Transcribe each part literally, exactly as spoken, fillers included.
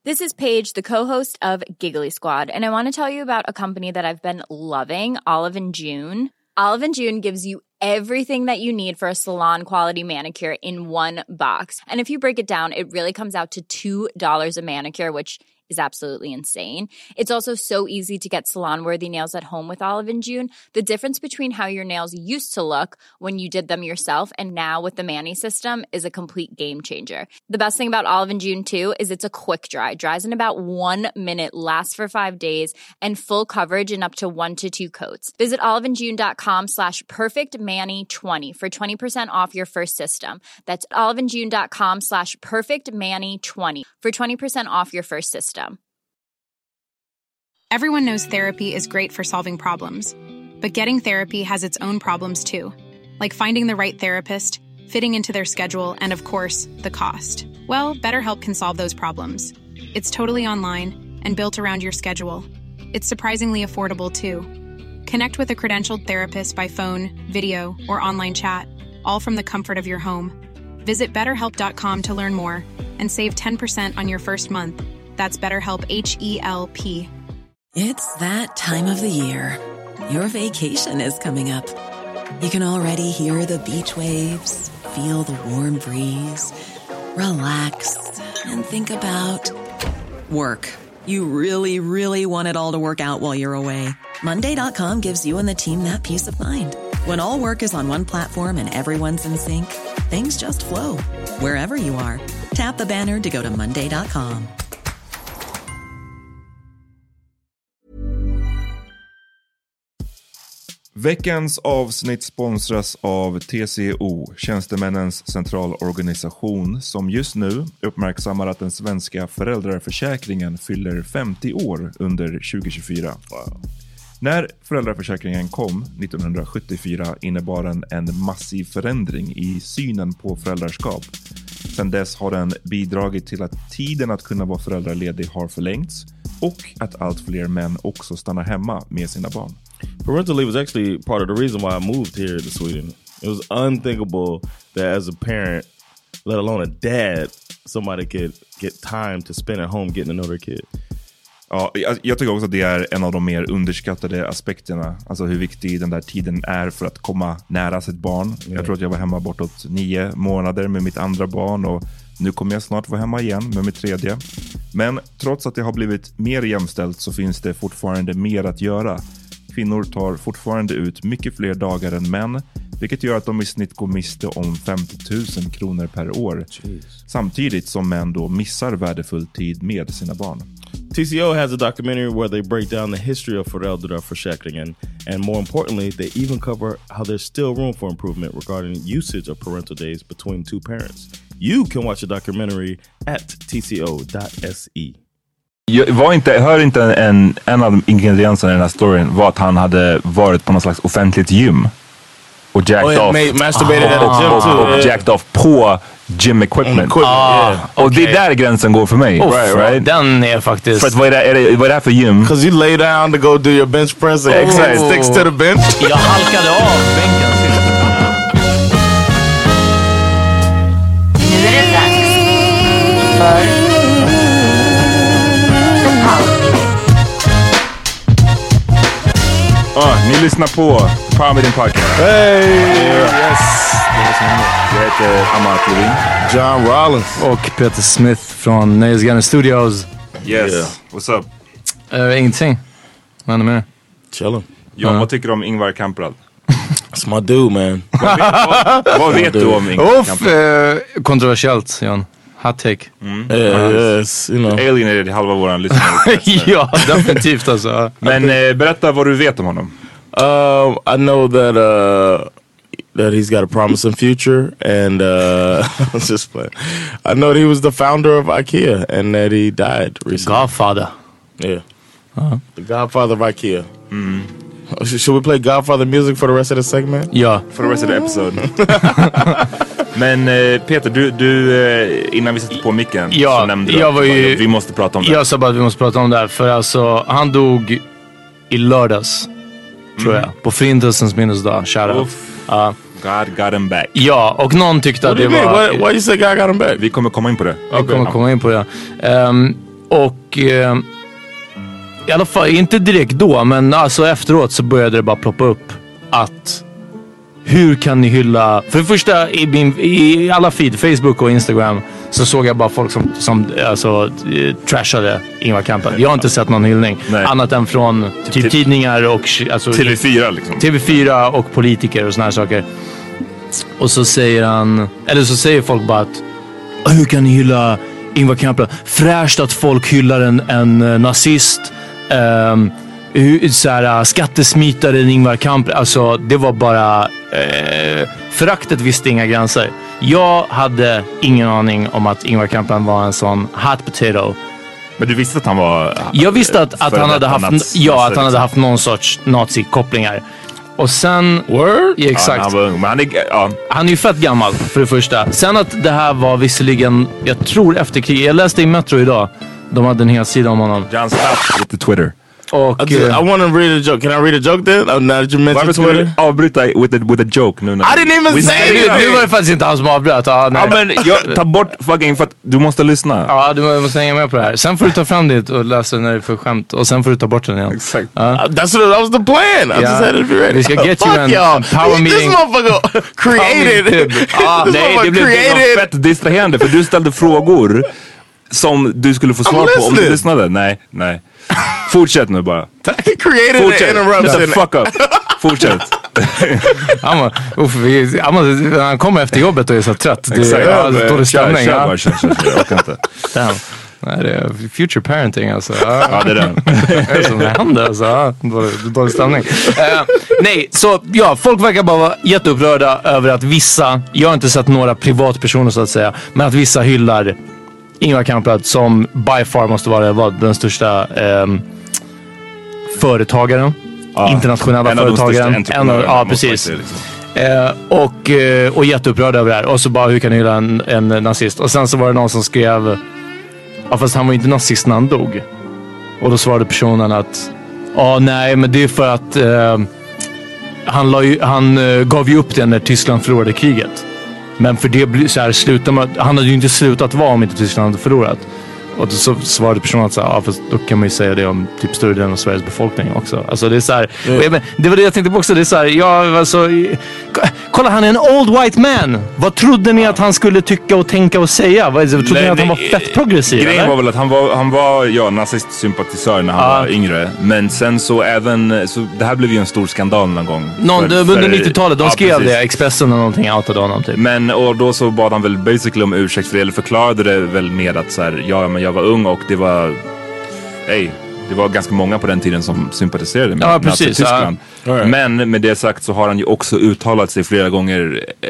This is Paige, the co-host of Giggly Squad, and I want to tell you about a company that I've been loving, Olive and June. Olive and June gives you everything that you need for a salon-quality manicure in one box. And if you break it down, it really comes out to two dollars a manicure, which is absolutely insane. It's also so easy to get salon-worthy nails at home with Olive and June. The difference between how your nails used to look when you did them yourself and now with the Mani system is a complete game changer. The best thing about Olive and June, too, is it's a quick dry. Dries in about one minute, lasts for five days, and full coverage in up to one to two coats. Visit oliveandjune.com slash perfectmani20 for twenty percent off your first system. That's oliveandjune.com slash perfectmani20 for twenty percent off your first system. Everyone knows therapy is great for solving problems, but getting therapy has its own problems too, like finding the right therapist, fitting into their schedule, and of course, the cost. Well, BetterHelp can solve those problems. It's totally online and built around your schedule. It's surprisingly affordable too. Connect with a credentialed therapist by phone, video, or online chat, all from the comfort of your home. Visit better help dot com to learn more and save ten percent on your first month. That's BetterHelp, H E L P. It's that time of the year. Your vacation is coming up. You can already hear the beach waves, feel the warm breeze, relax, and think about work. You really, really want it all to work out while you're away. Monday dot com gives you and the team that peace of mind. When all work is on one platform and everyone's in sync, things just flow. Wherever you are, tap the banner to go to Monday dot com. Veckans avsnitt sponsras av T C O, Tjänstemännens centralorganisation, som just nu uppmärksammar att den svenska föräldraförsäkringen fyller femtio år under tjugo tjugofyra. Wow. När föräldraförsäkringen kom nittonhundrasjuttiofyra innebar den en massiv förändring i synen på föräldraskap. Sedan dess har den bidragit till att tiden att kunna vara föräldraledig har förlängts och att allt fler män också stannar hemma med sina barn. Parental leave was actually part of the reason why I moved here to Sweden. It was unthinkable that as a parent, let alone a dad, somebody could get time to spend at home getting to know their kid. Ja, jag, jag tycker också att det är en av de mer underskattade aspekterna. Alltså hur viktig den där tiden är för att komma nära sitt barn. Mm. Jag tror att jag var hemma bortåt nio månader med mitt andra barn och nu kommer jag snart vara hemma igen med mitt tredje. Men trots att det har blivit mer jämställt så finns det fortfarande mer att göra. Kvinnor tar fortfarande ut mycket fler dagar än män, vilket gör att de i snitt går miste om femtio tusen kronor per år. Jeez. Samtidigt som män då missar värdefull tid med sina barn. T C O has a documentary where they break down the history of föräldraförsäkringen, and more importantly, they even cover how there's still room for improvement regarding usage of parental days between two parents. You can watch the documentary at t c o dot s e. Jag var inte, hör inte en, en av ingredienserna i den här storyn var att han hade varit på någon slags offentligt gym och jacked oh, off made, masturbated ah, at a gym och, too, och, och yeah. jacked off på gym equipment, equipment ah, yeah. Och okay. det är där gränsen går för mig. Oh, right, right? Den är faktiskt för att vad är det, är det, vad är det här för gym? Because you lay down to go do your bench press and oh. sticks to the bench. Jag halkade av bänken. Nu är det dags för Ah, ni lyssnar på Power Meeting Podcast. Hey! Yes! Jag heter Amat Levin. John Rollins. Och Peter Smith från Nöjesgarden Studios. Yes. Yeah. What's up? Uh, ingenting. Vad är det med? Chilling. John, uh. vad tycker du om Ingvar Kamprad? That's my dude, man. vad vet, vad, vad vet du om Ingvar Uff, Kamprad? uh, kontroversiellt, John. Hot take. Mm. Yeah, yes, you know. Alienated halva våran lyssnare. Ja, definitivt alltså. Men eh, berätta vad du vet om honom. Um, I know that uh, that he's got a promising future, and uh, I was just playing. I know that he was the founder of IKEA, and that he died recently. Godfather. Yeah, uh-huh. The Godfather of IKEA. Mm. Should we play Godfather music for the rest of the segment? Ja. For the rest of the episode. Men eh, Peter, du, du eh, innan vi sätter på micken ja, så nämnde du jag var ju, vi måste prata om det. Jag sa bara att vi måste prata om det här, för alltså han dog i lördags, mm. tror jag, på Förintelsens minnesdag. Shoutout. Uh, God got him back. Ja, och någon tyckte What att det var... var... Why, why you say God got him back? Vi kommer komma in på det. Vi kommer komma in på det. Um, Och eh, i alla fall, inte direkt då, men alltså efteråt så började det bara ploppa upp att hur kan ni hylla... För det första, i, min, i alla feed, Facebook och Instagram, så såg jag bara folk som, som alltså, trashade Ingvar Kamprad. Jag har inte sett någon hyllning. Nej. Annat än från typ tidningar och... Alltså, T V fyra liksom. T V fyra och politiker och såna här saker. Och så säger han... Eller så säger folk bara att hur kan ni hylla Ingvar Kamprad? Fräscht att folk hyllar en, en nazist. Um, så här, skattesmitaren Ingvar Kamprad. Alltså det var bara eh, föraktet visste inga gränser. Jag hade ingen aning om att Ingvar Kamprad var en sån hot potato. Men du visste att han var... Jag visste att, att han hade haft nats, ja, att han hade haft någon sorts nazi-kopplingar. Och sen... Word? Ja, exakt. Ja, han var ung, men han är, ja. Han är ju fett gammal för det första. Sen att det här var visserligen, jag tror efter kriget. Jag läste i Metro idag. De hade en hel sida om honom. John Staff with the Twitter. Och, I, I want to read a joke. Can I read a joke then? Uh, now that you mentioned Twitter. Avbryta with a, with a joke nu. I didn't even say it! Nu var det faktiskt inte han som avbröt. Ah, ja, men jag, ta bort fucking för att du måste lyssna. Ja, du måste hänga med på det här. Sen får du ta fram det och läsa när det är för skämt. Och sen får du ta bort den igen. Exakt. Uh, uh, that's what, that was the plan. I yeah. just had to be ready. Vi ska get Fuck you an y'all. power meeting. This motherfucker created. ah, nej, det blev created. Fett distraherande för du ställde frågor som du skulle få svar på om du lyssnade. Nej, nej. Fortsätt nu bara. Created Fortsätt. an interruption. Fuck up. Fortsätt. han, var, uff, vi, han, han kommer efter jobbet och är så trött. Det är ja, alltså, dålig stämning. Kör, kör bara, kör, kör, kör. Jag orkar inte. Damn. Nej, det är future parenting alltså. Ja, ja det är den. Det är som det händer alltså. Ja, dålig, dålig stämning. Uh, nej, så ja, folk verkar bara vara jätteupprörda över att vissa, jag har inte sett några privatpersoner så att säga, men att vissa hyllar Ingvar Kamprad som by far måste vara var den största um, företagaren. Ja, internationella en företagaren. Av de en av, ja, precis. Det, liksom. eh, och, eh, och jätteupprörd över det här. Och så bara, hur kan du hylla en, en nazist? Och sen så var det någon som skrev, ja fast han var inte nazist när han dog. Och då svarade personen att, ja nej men det är för att eh, han, la ju, han eh, gav ju upp det när Tyskland förlorade kriget. Men för det blir så här, slutar man, han hade ju inte slutat vara om inte Tyskland hade förlorat. Och så svarade personen att så här, ja, fast då kan man ju säga det om typ större delen av Sveriges befolkning också. Alltså det är så här, mm. och jag, men, det var det jag tänkte på också, det är så här, ja alltså, kolla han är en old white man. Vad trodde ni att han skulle tycka och tänka och säga? Vad trodde Nej, ni att han var fett progressiv? Grejen eller? var väl att han var, han var ja, nazistsympatisör när han ah. var yngre. Men sen så även, så det här blev ju en stor skandal någon gång. Någon, för, under nittiotalet, de ja, skrev precis. Det, Expressen och någonting, outade honom typ. Men och då så bad han väl basically om ursäkt för det, eller förklarade det väl med att så här, ja men jag var ung och det var, hej, det var ganska många på den tiden som sympatiserade med, ja, precis, med Tyskland. Ja. Right. Men med det sagt så har han ju också uttalat sig flera gånger eh,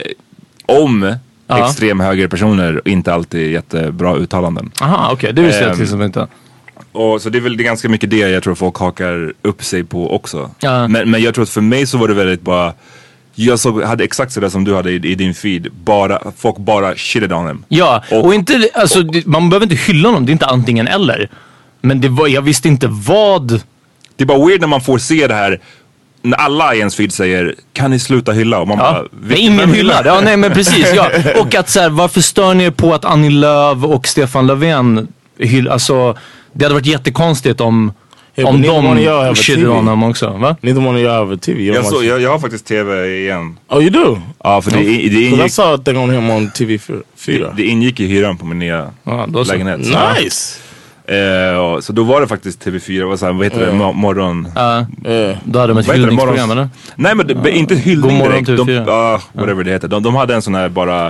om ja. extremhögerpersoner och inte alltid jättebra uttalanden. Aha, okej, okay. Det visste jag till exempel inte. Och så det är väl det är ganska mycket det jag tror folk hakar upp sig på också. Ja. Men, men jag tror att för mig så var det väldigt bara, jag såg, hade exakt sådär som du hade i, i din feed. Bara, folk bara shitted on him. Ja, och, och inte, alltså, man behöver inte hylla honom. Det är inte antingen eller. Men det var, jag visste inte vad. Det är bara weird när man får se det här. När alla i ens feed säger, kan ni sluta hylla? Och man ja, bara, men ingen hyllar. Ja, nej men precis. Ja. Och att så här, varför stör ni er på att Annie Lööf och Stefan Löfven hyllar? Alltså, det hade varit jättekonstigt om... Yeah, om de shitted on honom också, va? Neither one of you have a T V. Jag, så, jag, jag har faktiskt T V igen. Oh, you do? Ja, för det, det ingick... I saw a thing on him on T V fyra. Det, det ingick i hyran på min nya ah, lägenhet. Så. Nice! Uh, så då var det faktiskt T V fyra, vad, så här, vad heter uh. det, Mo- morgon... Ja, uh. uh. Då hade de ett hyllningsprogram, eller? Nej, men det, uh. inte hyllning direkt. De, uh, whatever uh. det heter. De, de hade en sån här bara...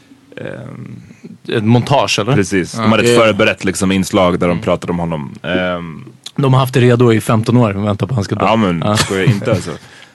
Um, ett montage, eller? Precis, de hade ett uh. förberett liksom, inslag där de pratade om honom. Um, De har haft det redo i femton år och väntar på att han ska dö. Ja men, ja. Ska jag inte alltså.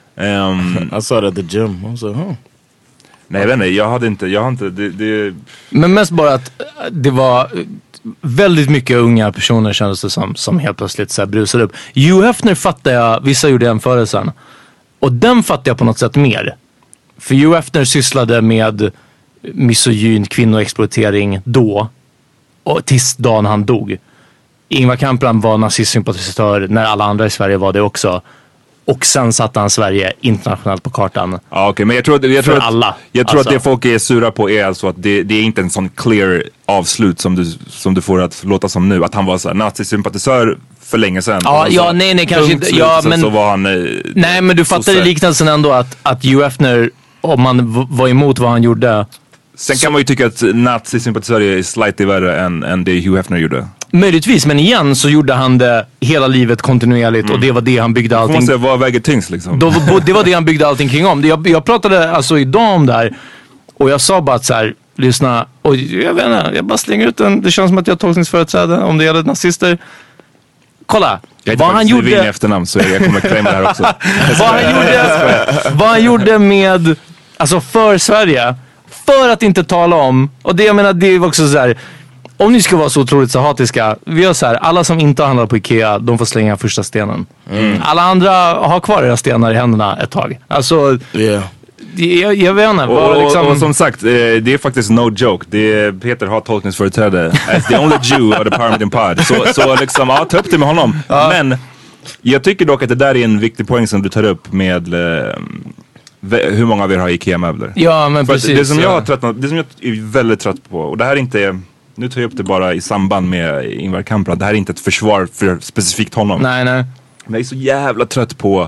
Um, I saw it at the gym. I was like, huh. Nej jag vet inte, jag hade inte, jag har inte, det, det... Men mest bara att det var väldigt mycket unga personer kändes det som, som helt plötsligt så här brusade upp. Hugh Hefner fattar jag, vissa gjorde jämförelsen. Och den fattar jag på något sätt mer. För Hugh Hefner sysslade med misogyn, kvinnoexploatering då. Och tills dagen han dog. Ingvar Kamprad var nazistsympatisör när alla andra i Sverige var det också. Och sen satte han Sverige internationellt på kartan. Ja, okej, okay, men jag tror att, jag tror att, alla. Jag tror alltså. att det folk är sura på är alltså att det, det är inte en sån clear avslut som du, som du får att låta som nu. Att han var så här nazisympatisör för länge sedan. Ja, ja nej, nej, kanske inte. Slut, ja, men, så var han, nej, men du fattar i liknelsen ändå att, att Hugh Hefner, om man v- var emot vad han gjorde. Sen kan man ju tycka att nazisympatisörer är slightly värre än, än det Hugh Hefner gjorde. Möjligtvis, men igen så gjorde han det hela livet kontinuerligt mm. och det var det han byggde allting. Man säga, vad väger tyngst liksom? Då, det var det han byggde allting kring om. Jag, jag pratade alltså idag om det här och jag sa bara att så här, lyssna, och jag vet inte, jag bara slänger ut den. Det känns som att jag har tolkningsföreträde om det gäller nazister. Kolla, jag vad han gjorde... Jag efternamn så jag kommer claima det här också. vad, han gjorde, vad han gjorde med, alltså för Sverige, för att inte tala om, och det jag menar, det är också så här. Om ni ska vara så otroligt så hatiska, vi gör så här, alla som inte handlar på Ikea, de får slänga första stenen. Mm. Alla andra har kvar era stenar i händerna ett tag. Alltså, yeah. jag, jag vet inte. Och, liksom... och, och som sagt, det är faktiskt no joke. Det är, Peter har tolkningsföreträde. As the only Jew of the Parliament Pod. Så, så liksom, ja, ta upp det med honom. Ja. Men jag tycker dock att det där är en viktig poäng som du tar upp med eh, hur många av er har Ikea-möbler. Ja, men För precis. Det som, jag ja. har tröttnat, det som jag är väldigt trött på, och det här är inte... Nu tar jag upp det bara i samband med Ingvar Kamprad. Det här är inte ett försvar för specifikt honom. Nej, nej. Men jag är så jävla trött på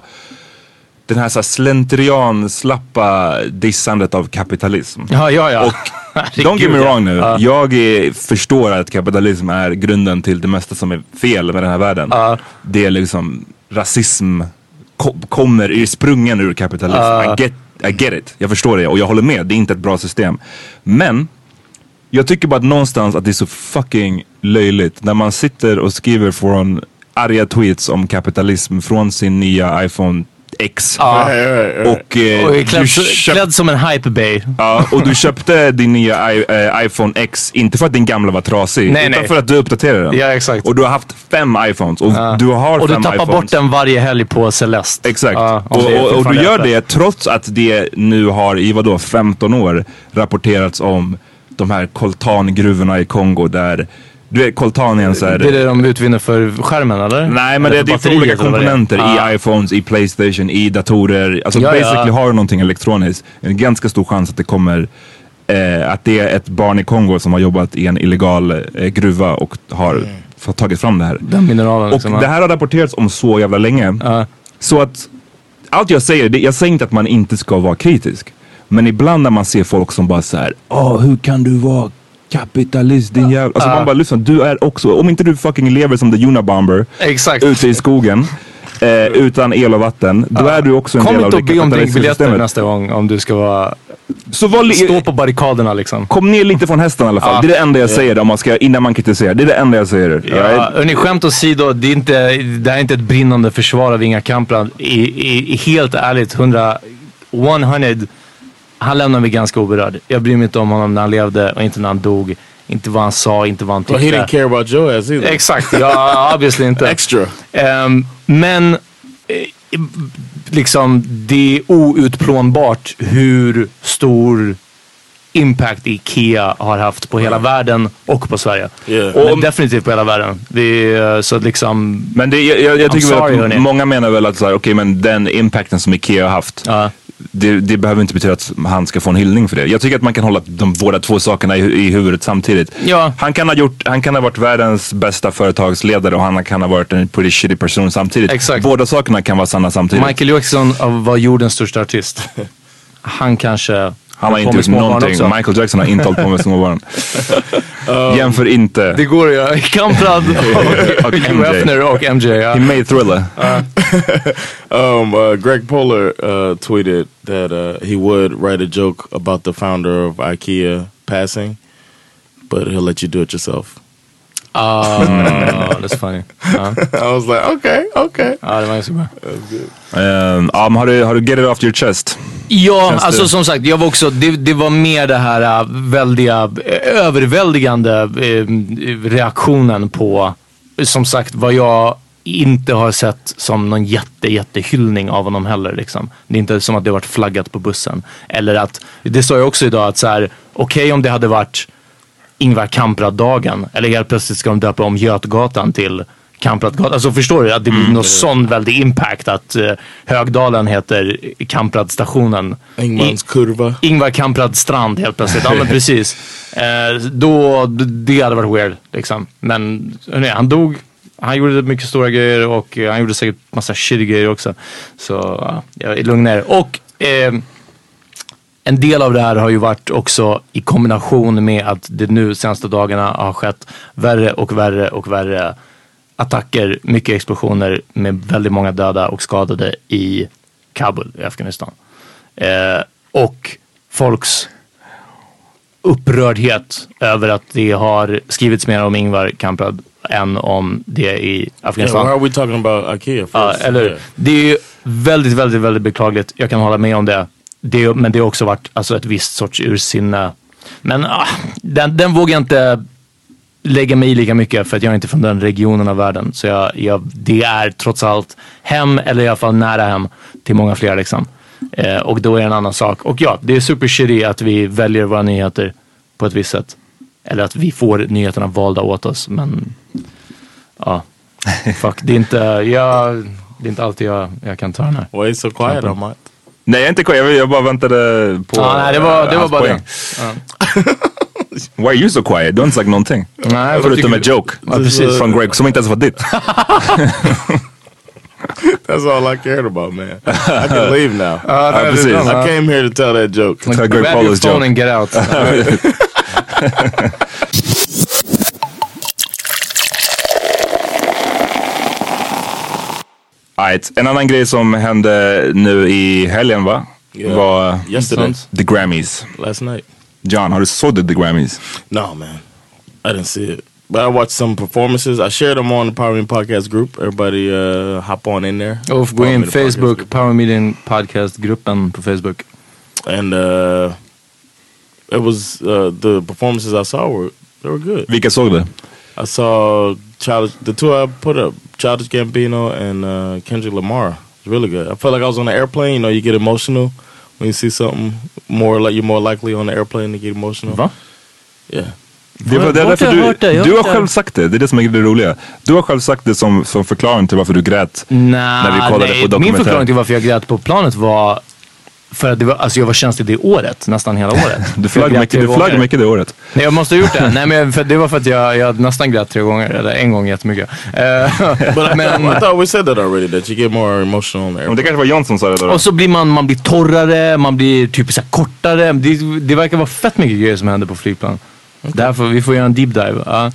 den här, så här slentrian, slappa dissandet av kapitalism. Ja, ja, ja. Och don't get me wrong nu. Ja. Jag är, förstår att kapitalism är grunden till det mesta som är fel med den här världen. Ja. Det är liksom rasism ko- kommer är sprungen ur kapitalism. Ja. I get, I get it. Jag förstår det och jag håller med. Det är inte ett bra system. Men jag tycker bara att någonstans att det är så fucking löjligt när man sitter och skriver från arga tweets om kapitalism från sin nya iPhone X. Ja. Och, eh, och klädd, köpt, klädd som en hype-bay. Ja, och du köpte din nya I, äh, iPhone X inte för att din gamla var trasig, nej, utan nej. för att du uppdaterade den. Ja, exakt. Och du har haft fem iPhones och ja. du har och fem du tappar iPhones. bort den varje helg på Celeste. Exakt. Ja, och, och, och du gör det trots att det nu har i vadå femton år rapporterats om de här coltangruvorna i Kongo där du vet, coltan är en så här... Det är det de utvinner för skärmen, eller? Nej, men eller det, det är för olika komponenter i iPhones, i PlayStation, i datorer. Alltså ja, basically ja. har du någonting elektroniskt. En ganska stor chans att det kommer... Eh, att det är ett barn i Kongo som har jobbat i en illegal eh, gruva och har mm. fått tagit fram det här. Den mineralen. Och liksom, det här har rapporterats om så jävla länge. Uh. Så att... Allt jag säger, det, jag säger inte att man inte ska vara kritisk. Men ibland när man ser folk som bara så här, åh, hur kan du vara kapitalist, din jävla... Alltså uh. man bara, lyssna, du är också, om inte du fucking lever som the Unabomber exakt. ute i skogen eh, utan el och vatten, då uh. är du också en kom del av det kapitalistiska systemet. Kom inte och be om drinkbiljetter nästa gång om du ska vara... Så var li- stå på barrikaderna liksom. Kom ner lite från hästen i alla fall. Uh. Det är det enda jag säger yeah. om man ska, innan man kritiserar. Det är det enda jag säger. Ja, right? Hörni, skämt åsido, det är inte, det här är inte ett brinnande försvar av Ingvar Kamprad. I, i, i, helt ärligt, hundra, hundra han lämnar mig ganska oberörd. Jag bryr mig inte om honom när han levde och inte när han dog. Inte vad han sa, inte vad han tyckte. Well, he didn't care about Joe as either. Exakt, ja, obviously inte. Extra. Um, men eh, liksom det är outplånbart hur stor impact Ikea har haft på hela världen och på Sverige. Yeah. Och men definitivt på hela världen. Det är så liksom... Men det, jag, jag, jag tycker sorry, väl att många menar väl att så här, okej, men den impacten som Ikea har haft, uh. det, det behöver inte betyda att han ska få en hyllning för det. Jag tycker att man kan hålla de båda två sakerna i, i huvudet samtidigt. Ja. Han kan ha gjort, han kan ha varit världens bästa företagsledare och han kan ha varit en pretty shitty person samtidigt. Exakt. Båda sakerna kan vara sanna samtidigt. Michael Jackson var jordens största artist. Han kanske... Han har inte gjort någonting. Också. Michael Jackson har inte hållit på med småbarn. um, Jämför inte. Det går ja. Kamprad och, och Hugh Hefner och M J. Ja. He made Thriller. Uh. um, uh, Greg Polar uh, tweeted that uh, he would write a joke about the founder of IKEA passing, but he'll let you do it yourself. Oh, that's funny. Uh. I was like, okay, okay. Ja, det var så bra. Um, um, har, du, har du get it off your chest? Ja, Känns alltså det? Som sagt, jag var också, det, det var mer det här uh, väldiga, uh, överväldigande uh, reaktionen på, som sagt, vad jag inte har sett som någon jätte, jättehyllning av honom heller liksom. Det är inte som att det varit flaggat på bussen. Eller att, det sa jag också idag, att så här, okej okay, om det hade varit Ingvar Kamprad-dagen, eller helt plötsligt ska de döpa om Götgatan till Kampradgatan. Alltså förstår du att det blir mm, någon det. sån väldig impact att uh, Högdalen heter Kampradstationen. Ingmans kurva. Ingvar Kamprad strand helt plötsligt. Ja men precis. Uh, då, det hade varit weird liksom. Men nej, han dog. Han gjorde mycket stora grejer och uh, han gjorde säkert massa shitty grejer också. Så uh, jag är lugn ner. Och uh, en del av det här har ju varit också i kombination med att det nu senaste dagarna har skett värre och värre och värre attacker, mycket explosioner med väldigt många döda och skadade i Kabul i Afghanistan. Eh, och folks upprördhet över att det har skrivits mer om Ingvar Kamprad än om det i Afghanistan. Yeah, why are we talking about IKEA first? Ja, eller yeah. Det är ju väldigt, väldigt, väldigt beklagligt. Jag kan hålla med om det. det men det har också varit alltså, ett visst sorts ursinne. Men ah, den, den vågar jag inte lägga mig i lika mycket för att jag är inte från den regionen av världen. Så jag, jag, det är trots allt hem, eller i alla fall nära hem till många fler liksom. Eh, och då är det en annan sak. Och ja, det är super shitty att vi väljer våra nyheter på ett visst sätt. Eller att vi får nyheterna valda åt oss. Men ja, fuck, det är inte, jag, det är inte alltid jag, jag kan ta den här. Why is so quiet on my... Nej, jag är inte quiet. Jag, jag bara väntade på... Ah, nej, det var, det var bara det. Ja. Why are you so quiet? Du har inte sagt någonting. Nej, förutom en joke. Ja, precis. Från Greg som inte ens var ditt. That's all I cared about, man. I can leave now. Uh, uh, precis. I came here to tell that joke. Like, grab your phone joke. And get out. Right. En annan grej som hände nu i helgen va? Yeah. Var Yesterday. The Grammys. Last night. John, har du såg the Grammys? No, man. I didn't see it. But I watched some performances. I shared them on the Power Meeting Podcast group. Everybody uh, hop on in there. Oh, gå in Facebook, Power Meeting Podcast-gruppen på Facebook. And uh, it was, uh, the performances I saw were, they were good. Vilka såg du? I saw Childish, the two I put up, Childish Gambino and uh, Kendrick Lamar. It's really good. I felt like I was on an airplane. You know, you get emotional when you see something more like you're more likely on the airplane to get emotional. Va? Yeah. Det var det därför du, det, du har själv sagt det. Det är det som är det roliga. Du har själv sagt det som, som förklaring till varför du grät. Nah, när vi kollade nej, på dokumentär. Min förklaring till varför jag grät på planet var för att det var, alltså jag var känslig det året, nästan hela året. Du flög mycket, du flög mycket det året. Nej, jag måste ha gjort det. Nej, men för, det var för att jag, jag nästan grät tre gånger, eller en gång jättemycket. Uh, But men, I thought we said that already, that you get more emotional there. Det kanske var John som sa det då. Och så blir man, man blir torrare, man blir typ så här kortare. Det, det verkar vara fett mycket grejer som händer på flygplan. Okay. Därför vi får göra en deep dive. Ja,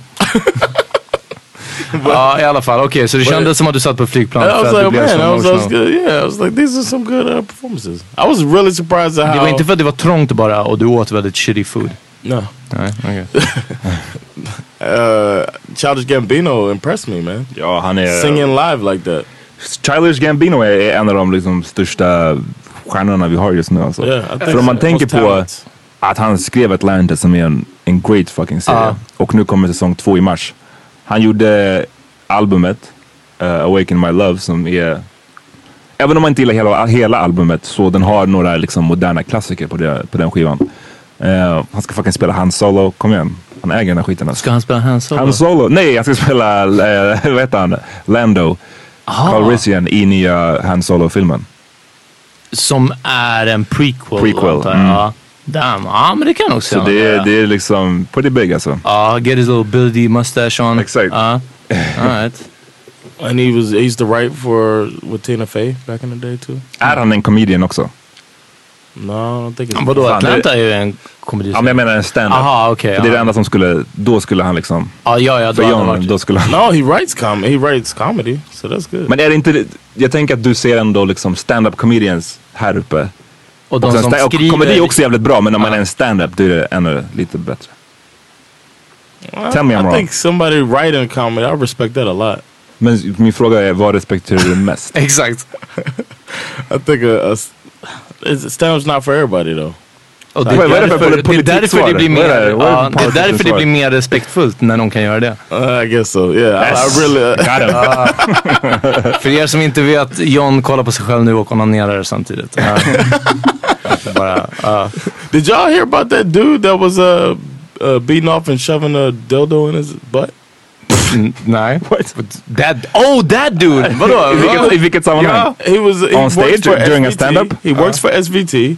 ja i alla fall. Okej, okay, så det kändes som att du satt på flygplan. I was like, man, I was, I was good. Yeah, I was like, these are some good uh, performances. I was really surprised at how... Det var inte för att det var trångt bara och du åt väldigt shitty food. No. Nej, okej. Okay. uh, Childish Gambino impressed me, man. Ja, han är... Singing live like that. Childish Gambino är en av de liksom, största stjärnorna vi har just nu. Alltså. Yeah, för om man tänker på... Talent. Att han skrev Atlanta som är en, en great fucking serie. Uh. Och nu kommer säsong två i mars. Han gjorde albumet uh, Awaken My Love som är... Även om man inte gillar hela, hela albumet så den har några liksom, moderna klassiker på, det, på den skivan. Uh, han ska fucking spela Han Solo. Kom igen. Han äger den här skiten. Alltså. Ska han spela Han Solo? Han Solo? Nej, han ska spela uh, vad heter han? Lando. Aha. Calrissian i nya Han Solo-filmen. Som är en prequel. Prequel. Mm. Damn, ja men det kan också. Så det är, det är liksom pretty big alltså. Ja, uh, get his little Billy D mustache on. Exakt. Uh, alright. And he was, he used to write for with Tina Fey back in the day too. Är han en comedian också? No, I don't think it's... Vadå, Atlanta är ju en komedi. Ja, men jag menar en stand-up. Aha, okej. Okay, det är det enda som skulle, då skulle han liksom... Ah, ja, ja, för John, då skulle han... No, he writes com he writes comedy, so that's good. Men är det inte, jag tänker att du ser ändå liksom stand-up comedians här uppe. Och de och som sta- skriver... Komedi är också jävligt bra, men om man är en stand-up då är det ännu lite bättre. Well, Tell me I'm I wrong. think somebody writing comedy, I respect that a lot. Men min fråga är, vad respekterar du mest? Exakt. I think a, a, stand-up's not for everybody though. Och det, det, är därför, det är därför det blir mer, det? Ja, det är därför det blir mer respektfullt när någon kan göra det. Uh, I guess so, yeah. Yes. I, I really... Uh, uh, för er som inte vet, John kollar på sig själv nu och onanerar samtidigt. Uh, bara, uh. Did y'all hear about that dude that was uh, uh, beating off and shoving a dildo in his butt? Mm, nej. What? That, oh, that dude! Vadå? I vilket, i vilket sammanhang? Yeah, he was he on stage during S V T. a stand-up? He works for S V T.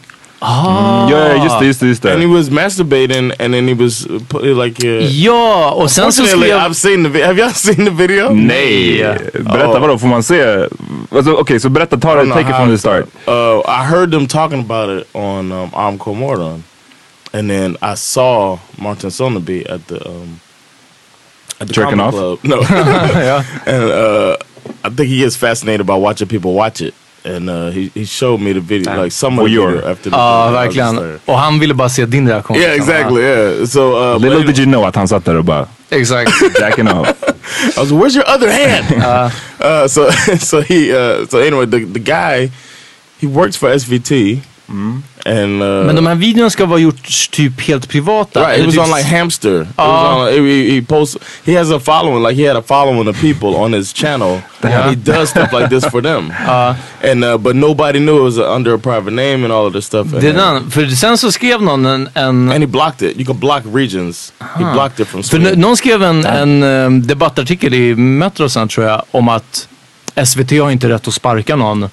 Ah. Ja, just det, just det, just det. And he was masturbating and then he was uh, like... Uh, ja, och sen så skrev... I've seen the video. Have y'all seen the video? Nej! Berätta, oh. vadå? Får man se? Alltså, Okej, okay, så berätta, ta det, take it from the start. Uh, I heard them talking about it on um, Am Komordon. And then I saw Martin Soneby at the... Um, at the Jerking off? Club. No. yeah. And uh, I think he gets fascinated by watching people watch it. And uh, he, he showed me the video, like some of the video after the Ja, uh, verkligen. Och han ville bara se din reaktion. Yeah, exactly, yeah. So, uh, Little did you know att han satt där och bara... Exakt. Jacking off. I was like, where's your other hand? uh, uh, so, so he, uh, so anyway, the, the guy, he works for S V T. Mm. And, uh, men de här videorna ska vara gjort typ helt privata. Right, it was on like Hamster. It uh, was on, he, he posts. He has a following, like he had a following of people on his channel. Yeah. He does stuff like this for them. Uh, and uh, but nobody knew it was under a private name and all of this stuff. Det den, för sen så skrev någon en, en... And he blocked it. You can block regions. Uh-huh. He blocked it from Sweden. För någon skrev en, yeah. en um, debattartikel i Metrosen tror jag om att S V T har inte rätt att sparka någon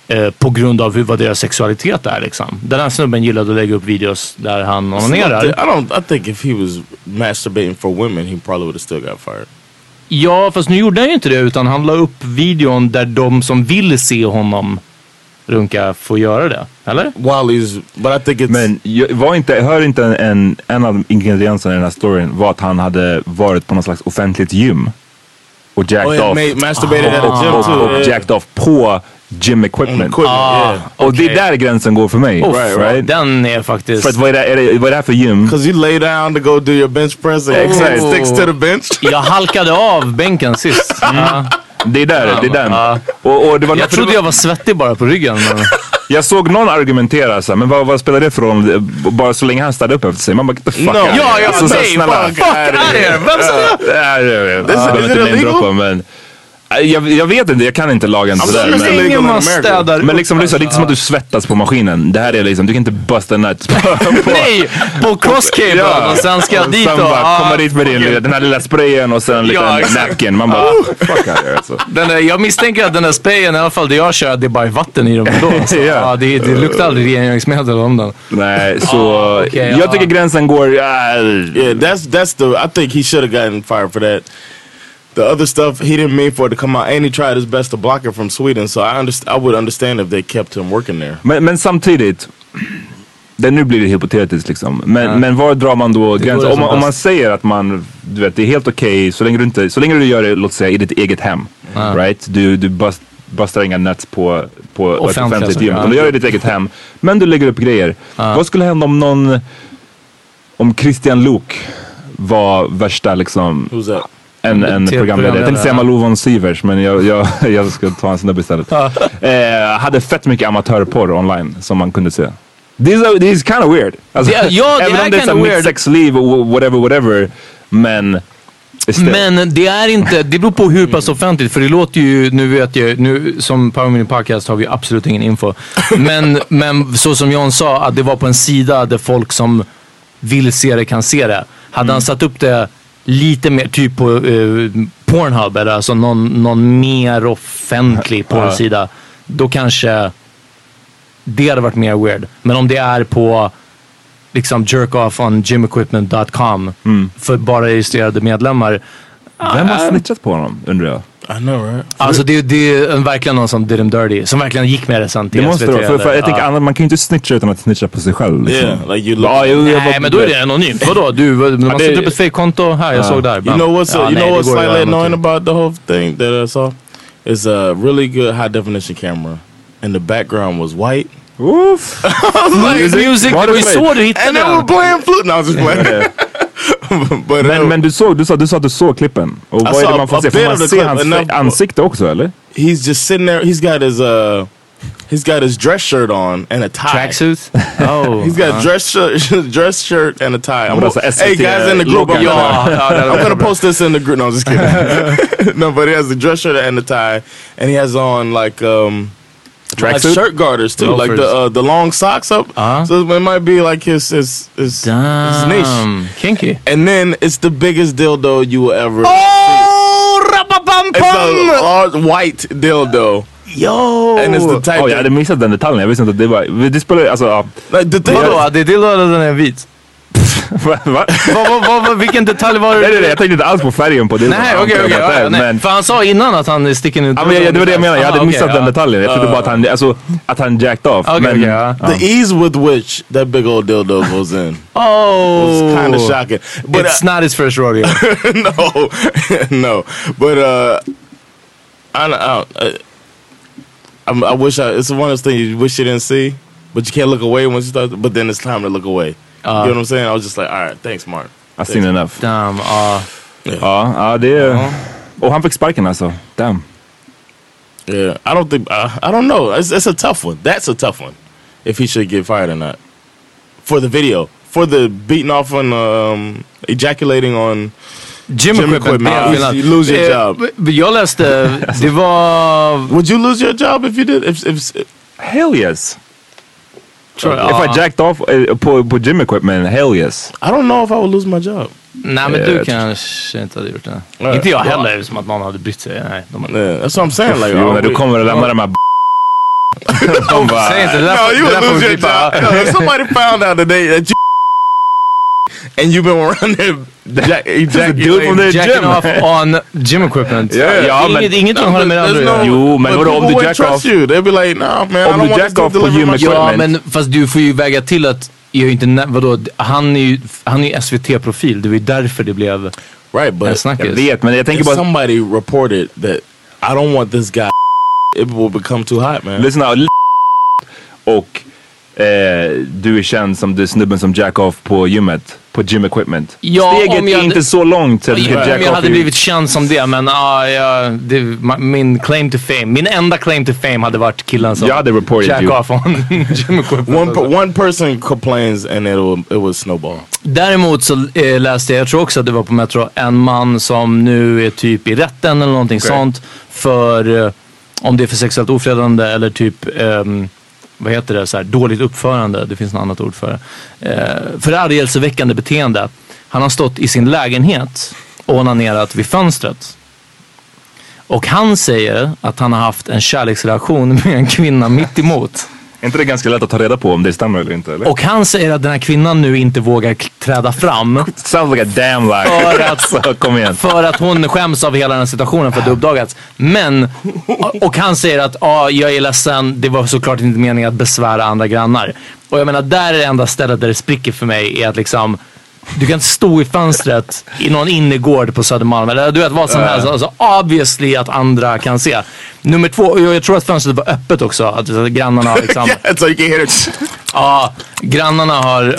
på grund av hur vad deras sexualitet är liksom. Den här snubben gillade att lägga upp videos där han onanerar. I don't I think if he was masturbating for women he probably would have still got fired. Ja, fast nu gjorde han ju inte det utan han la upp videon där de som vill se honom runka får göra det. Eller? Wally's, but I think it's... Men var inte, hör inte en, en av ingredienserna i den här storyn var att han hade varit på någon slags offentligt gym och jacked oh, yeah, off. Made, masturbated ah, at a gym och, too. Och, och jacked off på gym equipment. equipment ah, yeah. Och okay. det är där gränsen går för mig. Oh, right, right? Den är faktiskt... För att vad är det, är det, vad är det här för gym? Because you lay down to go do your bench press and exactly. sticks to the bench. Jag halkade av bänken sist. Mm. Uh. Det är där, Ja, det är den. uh. Och, och det var jag trodde jag var svettig bara på ryggen. Men... Jag såg någon argumentera så här, men vad, vad spelar det för roll? Bara så länge han ställde upp efter sig. Man bara, get the fuck no. out. Ja, ja, alltså, nej, snälla. fuck out here. Vem sa det? Jag behöver inte namedroppa, men... Jag, jag vet inte, jag kan inte lagen sådär. Men, ingen man städar men liksom, lyssna, det är inte som att du svettas på maskinen. Det här är liksom, du kan inte busta en nut. Nej, på crosscable ja. Och sen ska jag dit och... Bara, ah, komma dit med din, den här lilla sprayen och sen en liten ja, nacken. Man bara, oh, fuck out here, alltså. Den där, jag misstänker att den där sprayen, i alla fall det jag kör, det är bara vatten i dem ändå. Alltså. ja. Ja, det, det luktar aldrig rengöringsmedel om den. Nej, så... Oh, okay, jag ja. tycker gränsen går... Uh, yeah, that's, that's the... I think he should have gotten fired for that. The other stuff, he didn't mean for it to come out. And he tried his best to block it from Sweden. So I underst- I would understand if they kept him working there. Men, men samtidigt, det nu blir det hypotetiskt liksom. Men, ja. men var drar man då gränsen? Om, om man säger att man, du vet, det är helt okej okay, så länge du inte, så länge du gör det, låt säga, i ditt eget hem. Ja. Right? Du, du bust, bustar inga nuts på, på ett offentligt gym. Du gör det i ditt eget hem. Men du lägger upp grejer. Ja. Vad skulle hända om någon, om Christian Luuk var värsta liksom... Who's that? En, en programledare. Jag tänkte säga Malou von Sivers, men jag, jag, jag ska ta en snubbe istället. eh, hade fett mycket amatörporr online som man kunde se. This is, this is kind of weird. Alltså, det, ja, det även är om det är kind of mitt sexliv, whatever, whatever. Men... Men det är inte, det beror på hur pass offentligt, för det låter ju, nu vet jag, nu som Power Mini Podcast har vi absolut ingen info. Men, men så som John sa, att det var på en sida där folk som vill se det kan se det. Hade mm. han satt upp det lite mer typ på uh, Pornhub eller alltså någon, någon mer offentlig pornsida, då kanske det hade varit mer weird. Men om det är på liksom jerk off on gym equipment dot com mm. för bara registrerade medlemmar. Vem har snitchat på honom, undrar jag? I know, right? Alltså det, det är verkligen någon som did him dirty, som verkligen gick med det sen till det måste S V T. För, för jag tänker, uh. man kan ju inte snitcha utan att snitcha på sig själv. Liksom. Yeah, like you look, ah, you, nej, bara, men då är det anonymt. Vadå? Du, man sätter upp ett fake-konto här, jag uh. såg där. You know what's, ja, you nej, know what's slightly annoying about the whole thing that I saw? Is a really good high definition camera. And the background was white. Oof! like, music, music det var ju så du hittade. And they were playing flute. No, I was just playing. But, men, uh, men du såg, du sa, du sa att du såg klippen. Och vad är det man får se? Får man se hans enough, ansikte också, eller? He's just sitting there. He's got his uh, he's got his dress shirt on and a tie. Tracksuit. Oh, he's got uh-huh. a dress shirt, dress shirt and a tie. I'm gonna, hey guys in the group, I'm, gonna, I'm gonna post this in the group. No, I'm just kidding. No, but he has the dress shirt and the tie, and he has on like um. Like shirt garters too, Loafers. like the uh, the long socks up. Uh-huh. So it might be like his his his, his niche, kinky. And then it's the biggest dildo you will ever. Oh! large white dildo. Yo! And it's the type oh, jag hade missat den detaljen. Jag visste inte att det var... Det spelar alltså... Ja. Vadå? Det är dildo eller den är vit? Va? Va? va, va, va, vilken detalj var det? Nej, nej, nej, jag tänkte inte alls på färgen på det. Nej, okej, okej. Okay, okay, men... För han sa innan att han sticker ut. Ja, men jag, det var det jag menade. Jag hade ah, missat okay, den ja. detaljen. Jag trodde uh, bara att han, alltså, att han jacked off. Okay, men, okay, ja. The ease with which that big old dildo goes in. Oh, was kind of shocking. But it's uh, not his first rodeo. no, no. But uh, I don't. I, don't, I, I wish I. It's one of those things you wish you didn't see, but you can't look away once you start. But then it's time to look away. Uh, you know what I'm saying? I was just like, all right, thanks, Mark. I've seen enough. Damn. Uh, yeah. Ja, ja, det är... Uh-huh. Och han fick sparken alltså. Damn. Yeah, I don't think... Uh, I don't know. It's, it's a tough one. That's a tough one. If he should get fired or not. For the video. For the beating off on... Um, ejaculating on... Gym, gym equipment. equipment. You lose your job. Jag läste... Det var... Would you lose your job if you did? If, if, if, Hell yes. Sure, if uh, I jacked off uh, på, på gym equipment, hell yes. I don't know if I would lose my job. Nej, men du kanske inte hade gjort det. Yeah. Inte jag heller, yeah. Som att någon hade brytt sig. Nej, de hade... yeah, that's what I'm saying. Like, jo, när du kommer och lämnar de här de bara... Säg inte det där. No, you would lose your job. No, if somebody found out that they... That you and you've been around there jack, ejaculating jacking off on gym equipment. Yeah, ja, inget, men, inget som håller med andra. No, jo, men vadå om du jack off? You. They'll be like, nah, man, om du jack off på gym equipment. Ja, men fast du får ju väga till att jag inte, vadå, han är ju han är S V T-profil. Det var ju därför det blev right, but jag vet, men jag tänker bara somebody reported that I don't want this guy, it will become too hot, man. Listen out. Och eh, du är känd som du snubben som jack off på gymmet. På gym equipment. Ja, steget är inte så långt så att du ska jack om jag hade i... blivit känd som det, men ah, ja, det, min claim to fame, min enda claim to fame hade varit killen som jack you. off on gym equipment. One, per, one person complains and it will, it will snowball. Däremot så eh, läste jag, jag tror också att det var på Metro, en man som nu är typ i rätten eller någonting okay. sånt för eh, om det är för sexuellt ofredande eller typ um, vad heter det, så här, dåligt uppförande, det finns något annat ord för det. Eh, förargelseväckande beteende. Han har stått i sin lägenhet och onanerat vid fönstret. Och han säger att han har haft en kärleksrelation med en kvinna mitt emot. Är inte det ganska lätt att ta reda på om det stämmer eller inte? Eller? Och han säger att den här kvinnan nu inte vågar träda fram. Sounds like a damn lie. För att, kom igen. För att hon skäms av hela den här situationen för att det uppdagats. Men, och han säger att ah, jag är ledsen, det var såklart inte meningen att besvära andra grannar. Och jag menar, där är det enda stället där det spricker för mig är att liksom... Du kan inte stå i fönstret i någon innergård på Södermalm eller du vet vad som helst. Alltså obviously att andra kan se. Nummer två, jag tror att fönstret var öppet också. Att grannarna har liksom... yeah, so you can hear it. Ja, grannarna har...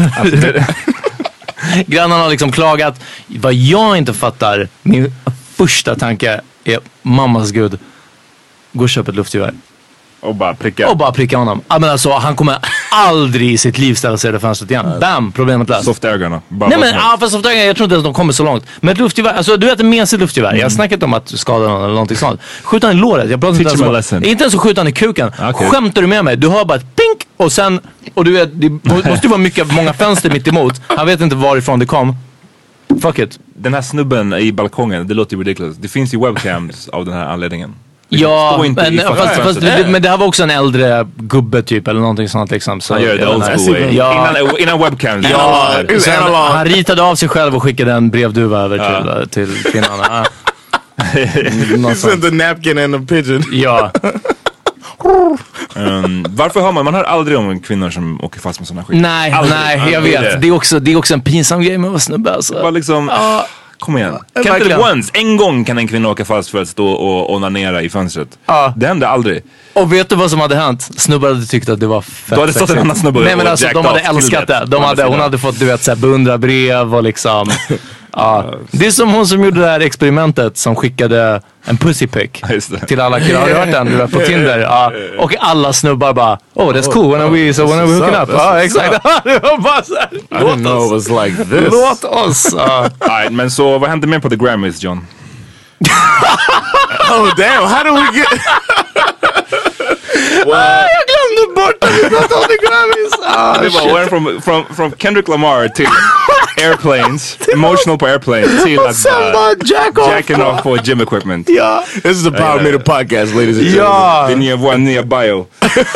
grannarna har liksom klagat. Vad jag inte fattar, min första tanke är mammas gud. Gå och köp ett luftgevär. Och bara pricka. Och bara pricka honom. Ja, men alltså, han kommer aldrig i sitt liv ställa sig i det fönstret igen. Bam, problemet löst. Softögonen. Nej men, ja, för softögonen, jag tror inte ens de kommer så långt. Men ett luftgevär, alltså du vet en mesig luftgevär. Mm. Jag har snackat om att skada någon eller någonting sånt. Skjuta i låret, jag pratar inte ens om. Inte ens så skjuta i kuken. Okay. Skämtar du med mig? Du hör bara ett pink och sen, och du vet, det måste ju vara mycket, många fönster mitt emot. Han vet inte varifrån det kom. Fuck it. Den här snubben i balkongen, det låter ju ridiculous. Det finns ju webcams av den här anledningen. Ja, men, fast, fast, det, men det här var också en äldre gubbe typ eller någonting sånt liksom. Så, han gör det old school. Ja. Innan, innan webcam. Ja, ja. Han, han ritade av sig själv och skickade en brevduva över ja. till, till kvinnan. You sent the napkin and the pigeon. Ja. um, varför hör man? Man hör aldrig om kvinnor som åker fast med såna skit. Nej, aldrig. nej, jag vet. Det. Det, är också, det är också en pinsam grej med att vara snubbe alltså. Bara liksom... Uh. Kom igen. Kan inte once, en gång kan en kvinna åka fast för att stå och onanera i fönstret. Ja. Det hände aldrig. Och vet du vad som hade hänt? Snubbar hade tyckt att det var fett. Då hade stått en annan snubbar. Nej men alltså de hade älskat det. De hade, hon hade fått, du vet, såhär beundrarbrev och liksom. Ja. Det är som hon som gjorde det här experimentet som skickade en pussy pic till alla killar. Har du hört den? Du vet, på Tinder. Ja. Och alla snubbar bara, oh that's cool, when are we, so when are we hooking up? Ja, exakt. Det var bara såhär, I didn't know it was like this. Låt oss. Uh. Right, men så vad hände mer på The Grammys, John? Oh damn, how do we get... Well, ah, jag glömde bort att vi pratade om The Grammys. Ah, det var from, from, from Kendrick Lamar till airplanes, emotional på airplanes till att bara jack off. jacking off på gym equipment. Ja. This is the Power Meter podcast, ladies and gentlemen. Ja. Det är nya, vår nya bio.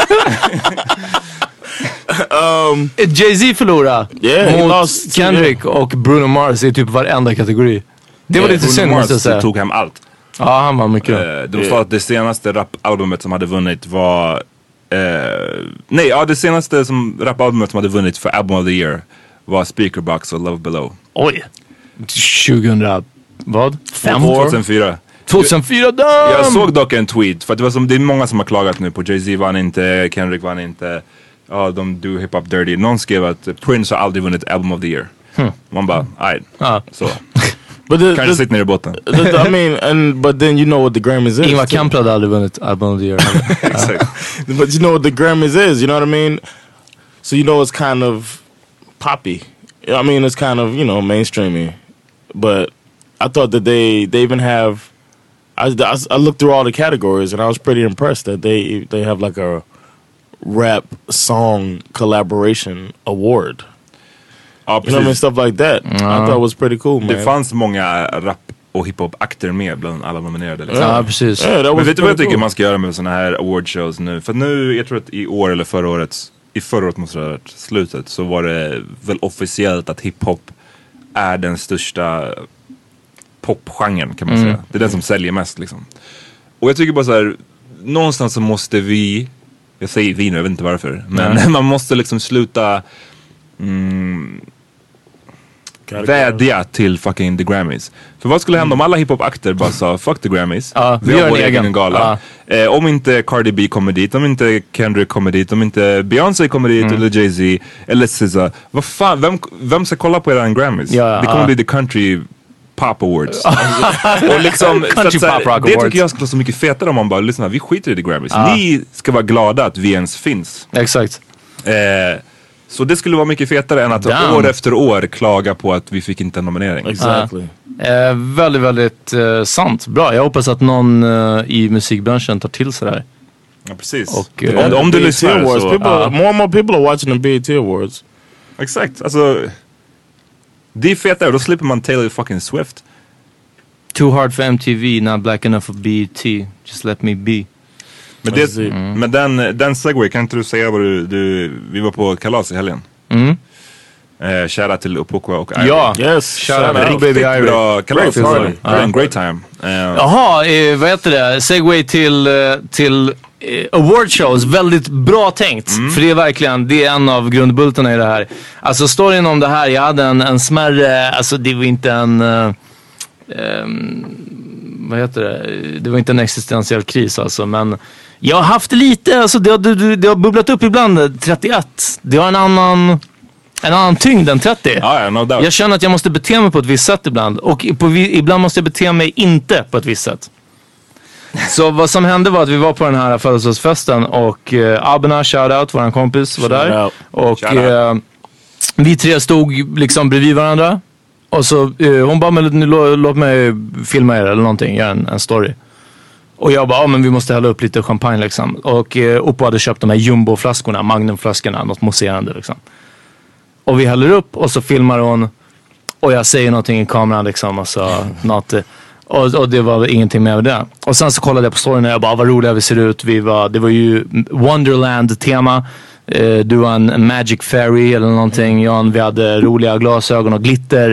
um, Jay-Z förlorade yeah, mot lost, Kendrick yeah. och Bruno Mars i typ varenda kategori. Det var yeah, lite synd måste jag säga. tog hem allt. Ja, han var mycket. Uh, de sa att det senaste rapalbumet som hade vunnit var... Uh, nej, ja, det senaste som rapalbumet som hade vunnit för Album of the Year var Speakerbox och Love Below. Oj. tjugohundra... Vad? Fem år? tjugohundrafyra. tjugohundrafyra, damn! Jag såg dock en tweet, för att det, var som, det är många som har klagat nu på Jay-Z vann inte, Kendrick vann inte, ja, de do hip-hop dirty. Någon skrev att Prince har aldrig vunnit Album of the Year. Hmm. Man bara, aj, ah. så. Kanske sitter ner i båten. I mean, and but then you know what the Grammys is. Ingvar Kamprad hade aldrig vunnit Album of the Year. Exactly. But you know what the Grammys is, you know what I mean? So you know it's kind of poppy. I mean, it's kind of, you know, mainstreamy. But I thought that they they even have. I, I, I looked through all the categories and I was pretty impressed that they they have like a rap song collaboration award. Ja, you know what I mean? Stuff like that. Mm. I thought it was pretty cool, man. Det fanns många rap och hiphop-akter med bland alla nominerade. Liksom. Ja, precis. Yeah, men vet du vad jag tycker cool. man ska göra med såna här awardshows nu? För nu, jag tror att i år eller förra året, i förra året måste det ha varit slutet, så var det väl officiellt att hiphop är den största popgenren, kan man mm. säga. Det är den som säljer mest liksom. Och jag tycker bara så här, någonstans så måste vi, jag säger vi nu, jag vet inte varför, men mm. man måste liksom sluta mm, vädja till fucking the Grammys. För vad skulle hända om alla hiphop-akter bara sa fuck the Grammys, ja, vi har vår egen gala. Ja. Eh, om inte Cardi B kommer dit, om inte Kendrick kommer dit, om inte Beyoncé kommer dit, mm. eller Jay-Z eller S Z A, vad fan, vem, vem ska kolla på eran Grammys? Ja, ja, det kommer ja. bli the country pop awards. Och liksom, country så att, pop rock det awards. tycker jag skulle vara så mycket fetare om man bara lyssnar, vi skiter i the Grammys. Ja. Ni ska vara glada att vi ens finns. Exakt. Eh, Så det skulle vara mycket fetare än att Damn. år efter år klaga på att vi fick inte en nominering. Exactly. Uh, eh, väldigt, väldigt uh, sant. Bra. Jag hoppas att någon uh, i musikbranschen tar till sig där. Ja, precis. Och, uh, om, om du lyssnar Awards, så... People, uh, more and more people are watching the B E T Awards. Exakt. Alltså, det är fetare. Då slipper man Taylor fucking Swift. Too hard for M T V, not black enough for B E T. Just let me be. Men, det, mm. men den, den segway, kan inte du säga vad du, du... Vi var på kalas i helgen. Mm. Eh, Kära till Upokwa och Ivy. Ja, yes. Shout out baby Ivy. Bra kalas. Great, uh, uh. Great time. Uh, Jaha, eh, vad heter det? Segway till, till eh, awardshows. Väldigt bra tänkt. Mm. För det är verkligen, det är en av grundbultarna i det här. Alltså storyn om det här, jag hade en, en smärre, alltså det var inte en... Uh, um, vad heter det? Det var inte en existentiell kris alltså, men jag har haft lite, alltså det har, det, det har bubblat upp ibland, trettioett. Det har en annan, en annan tyngd än trettio. Ah, yeah, no doubt. Jag känner att jag måste bete mig på ett visst sätt ibland. Och på, ibland måste jag bete mig inte på ett visst sätt. Så vad som hände var att vi var på den här födelsedagsfesten och eh, Abena, shoutout, våran kompis, var shout där. Out. Och eh, vi tre stod liksom bredvid varandra. Och så eh, hon bara, men lå, låt mig filma er eller någonting, göra en, en story. Och jag bara, ja men vi måste hälla upp lite champagne liksom. Och eh, Oppo hade köpt de här jumbo-flaskorna, magnumflaskorna, något mousserande liksom. Och vi häller upp och så filmar hon. Och jag säger någonting i kameran liksom, alltså något. Och, och det var ingenting med det. Och sen så kollade jag på storyn och jag bara, vad roliga vi ser ut. Vi var, det var ju Wonderland-tema. Eh, du var en Magic Fairy eller någonting. Jan, vi hade roliga glasögon och glitter.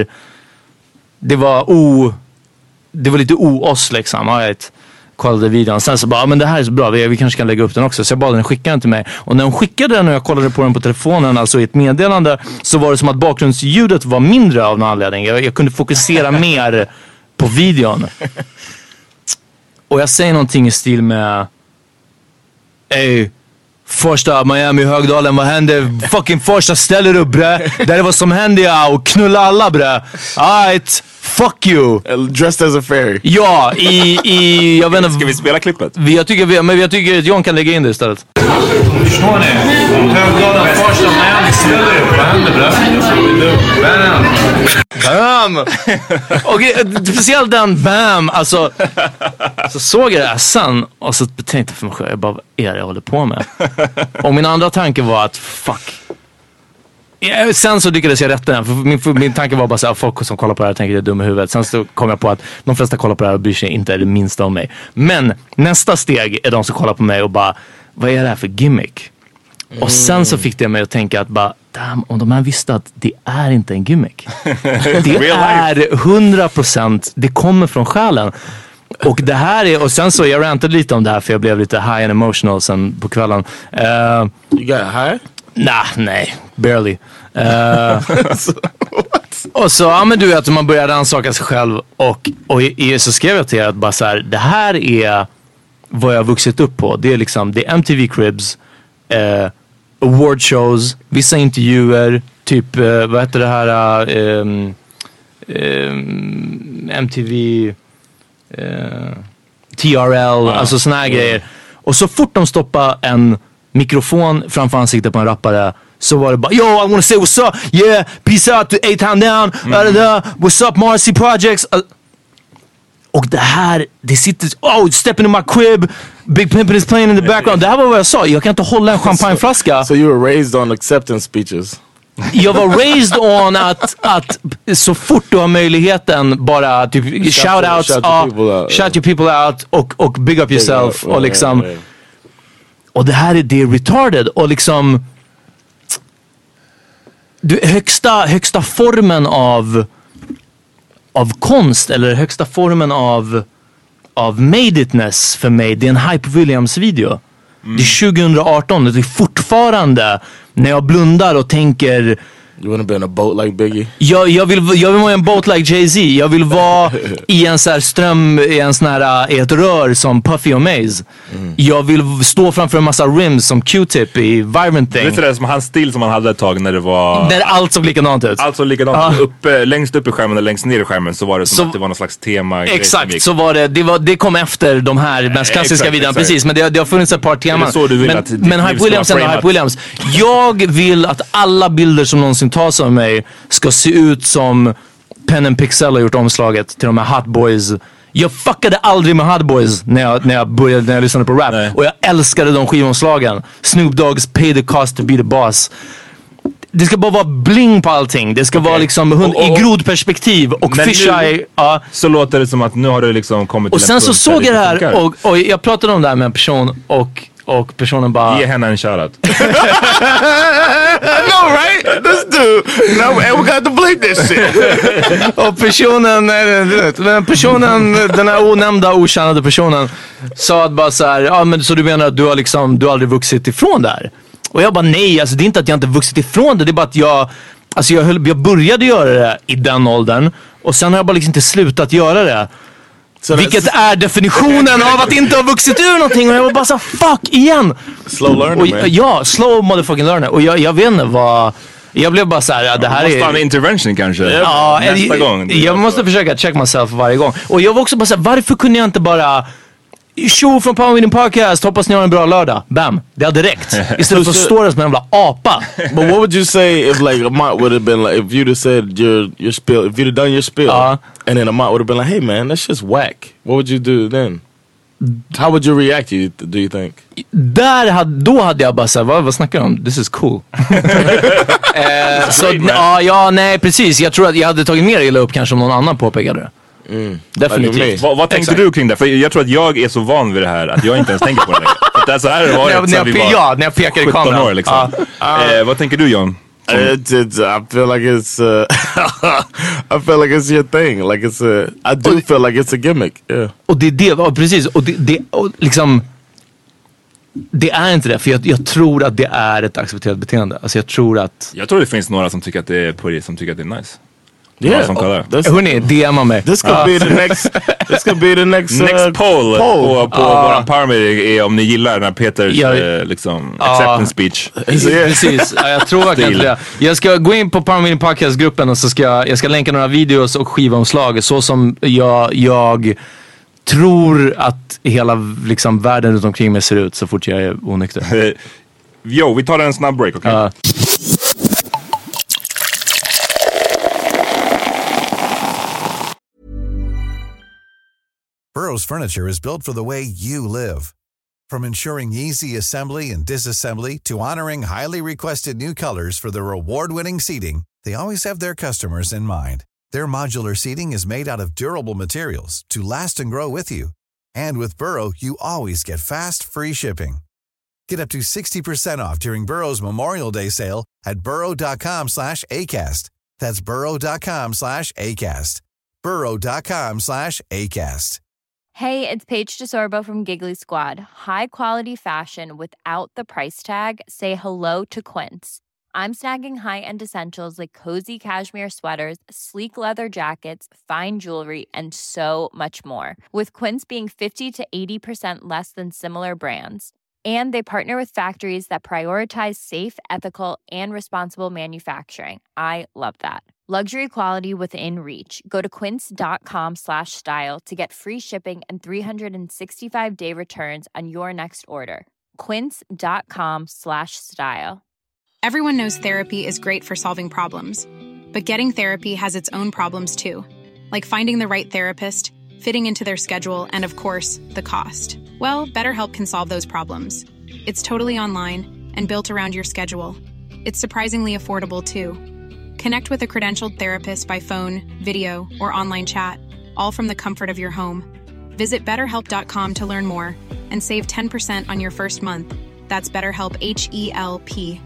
Det var o... Det var lite o-oss liksom. Right? Kollade videon. Sen så bara, men det här är så bra. Vi, vi kanske kan lägga upp den också. Så jag bad den skicka den till mig. Och när hon skickade den och jag kollade på den på telefonen, alltså i ett meddelande, så var det som att bakgrundsljudet var mindre av någon anledning. Jag, jag kunde fokusera mer på videon. Och jag säger någonting i stil med, ey, första Miami Högdalen, vad hände? Fucking första ställer upp bre. Det är vad som hände, ja. Och knulla alla bre. Alright, fuck you. Dressed as a fairy. Ja, i, i jag vet inte. Ska vi spela klippet? Jag tycker, vi, men jag tycker att John kan lägga in det istället. Förstår ni? Högdalen första Miami ställer upp. Vad hände bre? Bam. Bam. Och speciellt den bam. Alltså, så såg jag det här sen. Och så tänkte jag för mig själv, jag bara, vad är det jag håller på med? Och min andra tanke var att fuck, Ja, sen så lyckades jag rätta den. För min, för min tanke var bara så här, folk som kollar på det här tänker jag är dum i huvudet. Sen så kom jag på att de flesta kollar på det här och bryr sig inte det minsta om mig. Men nästa steg är de som kollar på mig och bara, vad är det här för gimmick? Mm. Och sen så fick det mig att tänka att bara, damn, om de här visste att det är inte en gimmick. Det är hundra procent, det kommer från själen. Och det här är, och sen så jag rantade lite om det här för jag blev lite high and emotional sen på kvällen. Uh, you got high? Nah, nej, barely. Uh, och så, ja men du vet, man börjar rannsaka sig själv och, och i, i, så skrev jag till er att bara så här, det här är vad jag har vuxit upp på. Det är liksom, det är M T V Cribs, uh, award shows, vissa intervjuer, typ, uh, vad heter det här, uh, um, um, M T V... Uh, T R L, wow. Alltså såna här yeah. grejer. Och så fort de stoppar en mikrofon framför ansiktet på en rappare så var det bara, yo, I wanna say what's up, yeah, peace out to A-Town Down, mm. uh, uh, what's up Marcy Projects. Uh, och det här, det sitter, oh, stepping in my crib, Big Pimpin' is playing in the background. Det här var vad jag sa, jag kan inte hålla en champagneflaska. So, so you were raised on acceptance speeches? Jag var raised on att, att så fort du har möjligheten bara typ shout-outs, shout, uh, shout, shout your people out och, och big up yourself up, och liksom yeah, yeah. Och det här är det retarded och liksom du, högsta, högsta formen av av konst eller högsta formen av av made itness för mig, det är en Hype Williams video. Mm. Det är tjugo arton, det är fortfarande när jag blundar och tänker you wanna be in a boat like Biggie? Jag, jag, vill, jag vill vara i en boat like Jay-Z. Jag vill vara i en så här ström, i en sån här, i ett rör som Puffy och Maze. Mm. Jag vill stå framför en massa rims som Q-Tip i Vibrant Thing. Vet du det, som hans stil som han hade ett tag när det var... När allt såg likadant ut. Allt såg likadant ut. Uh. Uppe, längst upp i skärmen och längst ner i skärmen så var det som så, att det var någon slags tema. Exakt, så var det. Det, var, det kom efter de här mest klassiska videorna. Precis, men det, det har funnits ett par teman. Så du vill men att men Hype Williams är Hype Williams. Jag vill att alla bilder som någonsin tas av mig ska se ut som Pen and Pixel har gjort omslaget till de här Hot Boys. Jag fuckade aldrig med Hot Boys när jag, när jag började, när jag lyssnade på rap. Nej. Och jag älskade de skivomslagen. Snoop Dogg's Pay the Cost to Be the Boss. Det ska bara vara bling på allting. Det ska okay. vara liksom hund, och, och, i grodperspektiv och fisheye. Ja. Så låter det som att nu har du liksom kommit till. Och sen så såg jag det här och, och jag pratade om det här med en person och Och personen bara... Ge henne en shoutout. I know, right? This dude. No, and we got to bleep this shit. Och personen, den personen, den här onämnda, okända personen sa att bara så här, ja men så du menar att du har liksom, du har aldrig vuxit ifrån där? Och jag bara nej, alltså det är inte att jag inte vuxit ifrån det, det är bara att jag, alltså jag, höll, jag började göra det i den åldern och sen har jag bara liksom inte slutat göra det. Så vilket är definitionen av att inte ha vuxit ur någonting. Och jag var bara så fuck igen. Slow learner, och, man. Ja, slow motherfucking learner. Och jag, jag vet inte vad... Jag blev bara så här, ja, det här måste är... måste ha en intervention kanske. Ja, nästa jag, gång. Jag, jag måste försöka check myself varje gång. Och jag var också bara så här, varför kunde jag inte bara... Show från Power Meeting Podcast, hoppas ni har en bra lördag. Bam, det hade räckt. Istället för att stå där som en jävla apa. But what would you say if like Amat would have been like, if you'd have said your your spiel, if you'd have done your spiel, uh, and then Amat would have been like, hey man, that's just whack. What would you do then? How would you react, you, do you think? Där hade, då hade jag bara såhär, vad, vad snackar du om? This is cool. eh, så ja, ja, nej precis. Jag tror att jag hade tagit mer illa upp kanske om någon annan påpekade det. Mm. Definitivt. Vad, vad tänkte du kring det? För jag tror att jag är så van vid det här att jag inte ens tänker på det längre. För det är så här det var när, när, vi var ja, när jag pekar i kameran. År, liksom. uh, uh, eh, vad tänker du, John? It, it, I feel like it's uh, I feel like it's your thing. Like it's a, I do och, feel like it's a gimmick. Yeah. Och det är det, och precis. Och det, det och liksom det är inte det, för jag, jag tror att det är ett accepterat beteende. Alltså jag tror att Jag tror det finns några som tycker att det är på det, som tycker att det är nice. Yeah, oh, hörni, D M mig. This could uh. be the next. This could be the next. Next uh, poll, poll. på, på uh. våran Powermeeting är om ni gillar den här Peters ja, uh, liksom uh. acceptance speech. Precis, ja, jag tror verkligen det. Jag ska gå in på Powermeeting Podcast-gruppen och så ska jag, jag ska länka några videos och skivomslag så som jag, jag tror att hela liksom världen runt omkring mig ser ut så fort jag är onykter. Jo, vi tar en snabb break, okej? Okay? Uh. Burrow's furniture is built for the way you live. From ensuring easy assembly and disassembly to honoring highly requested new colors for their award-winning seating, they always have their customers in mind. Their modular seating is made out of durable materials to last and grow with you. And with Burrow, you always get fast, free shipping. Get up to sixty percent off during Burrow's Memorial Day sale at burrow.com slash ACAST. That's burrow.com slash ACAST. burrow.com slash ACAST. Hey, it's Paige DeSorbo from Giggly Squad. High quality fashion without the price tag. Say hello to Quince. I'm snagging high-end essentials like cozy cashmere sweaters, sleek leather jackets, fine jewelry, and so much more. With Quince being fifty to eighty percent less than similar brands. And they partner with factories that prioritize safe, ethical, and responsible manufacturing. I love that. Luxury quality within reach. Go to quince.com slash style to get free shipping and three sixty-five day returns on your next order. Quince.com slash style. Everyone knows therapy is great for solving problems. But getting therapy has its own problems too. Like finding the right therapist, fitting into their schedule, and of course, the cost. Well, BetterHelp can solve those problems. It's totally online and built around your schedule. It's surprisingly affordable too. Connect with a credentialed therapist by phone, video, or online chat, all from the comfort of your home. Visit better help dot com to learn more and save ten percent on your first month. That's BetterHelp, H E L P.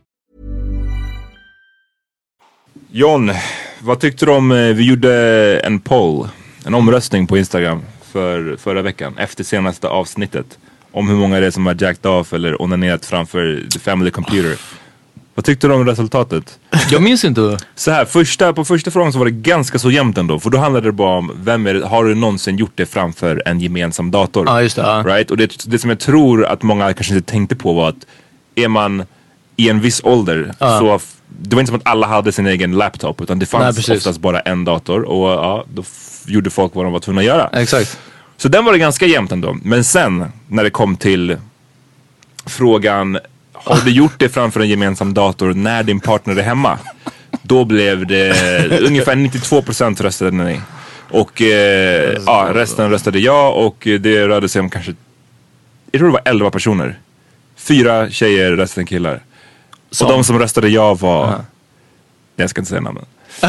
John, vad tyckte du om, vi gjorde en poll, en omröstning på Instagram för förra veckan, efter senaste avsnittet, om hur många det är som har jacked off eller onanerat framför the family computer. Vad tyckte du om resultatet? Jag minns inte. Så här, första, på första frågan så var det ganska så jämnt ändå. För då handlade det bara om, vem är det, har du någonsin gjort det framför en gemensam dator? Ja, just det. Ja. Right? Och det, det som jag tror att många kanske inte tänkte på var att är man i en viss ålder, ja, så det var inte som att alla hade sin egen laptop, utan det fanns Nej, oftast bara en dator. Och ja, då f- gjorde folk vad de var tvungna att göra. Exakt. Så den var det ganska jämnt ändå. Men sen, när det kom till frågan, har du gjort det framför en gemensam dator när din partner är hemma? Då blev det ungefär nittiotvå procent röstade nej. Och eh, ja, resten röstade ja. Och det rörde sig om kanske, jag tror det var elva personer. Fyra tjejer, resten killar. Som? Och de som röstade ja var, uh-huh. jag ska inte säga namnen.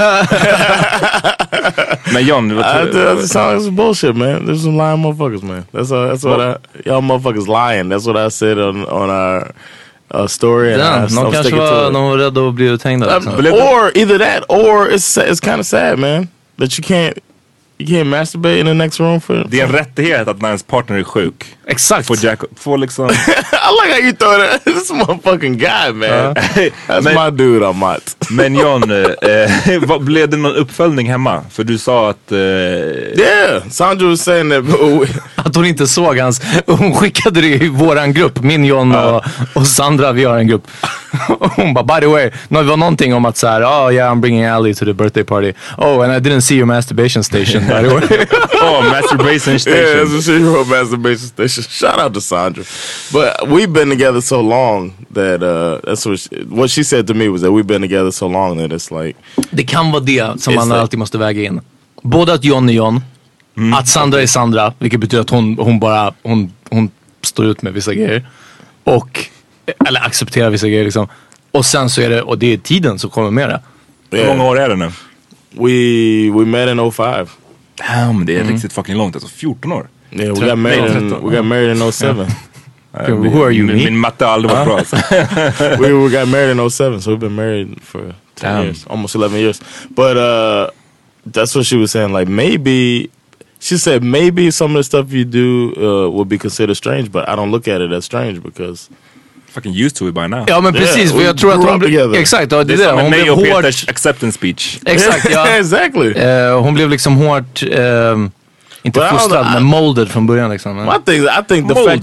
Men John, what I, that sounds bullshit, man. There's some lying motherfuckers, man. That's a, that's what, what I, y'all motherfuckers lying. That's what I said on on our uh, story. And yeah, någon kanske var, någon var rädd att bli uthängda. Um, or either that, or it's it's kind of sad, man, that you can't you can't masturbate in the next room for. Det är en rättighet att när ens partner är sjuk. Exakt. Får Jack, får liksom. I like how you throw that. This motherfucking guy, man. Uh, That's men, my dude, I'm not. Men John, eh, vad, blev det någon uppföljning hemma? För du sa att... Eh, yeah, Sandra was saying that. Att hon inte såg hans... Hon skickade det i våran grupp. Min, John och, och Sandra, vi har en grupp. Hon bara, by the way, det var någonting om att så här, oh yeah, I'm bringing Ali to the birthday party. Oh, and I didn't see your masturbation station, by the way. Oh, masturbation station. Yeah, that's what she wrote, masturbation station. Shout out to Sandra. But we've been together so long that uh, that's what she, what she said to me was that we've been together so long that it's like. Det kan vara det som man like, alltid måste väga in. Både att John är John, mm. att Sandra är Sandra, vilket betyder att hon, hon bara hon, hon står ut med vissa grejer. Och eller accepterar vissa grejer liksom. Och sen så är det, och det är tiden som kommer med det. Yeah. Hur många år är det nu? We, we met in oh five. Damn, det är mm. riktigt fucking långt, alltså fjorton år. Yeah, we got married in, we got married in oh seven. Yeah. Uh, who are you, min, me? Min matte har aldrig varit bra. we, we got married in oh seven, so we've been married for ten Damn. years, almost eleven years. But uh, that's what she was saying, like maybe, she said maybe some of the stuff you do uh, would be considered strange, but I don't look at it as strange because fucking used to it by now. Ja, men precis, yeah, för jag tror att hon blev, exakt, ja, det, det är som hon blev hårt Peters acceptance speech. Exakt, ja. Exactly. Uh, hon blev liksom hårt uh, inte But fostrad, men molded från början liksom. I think I think the fact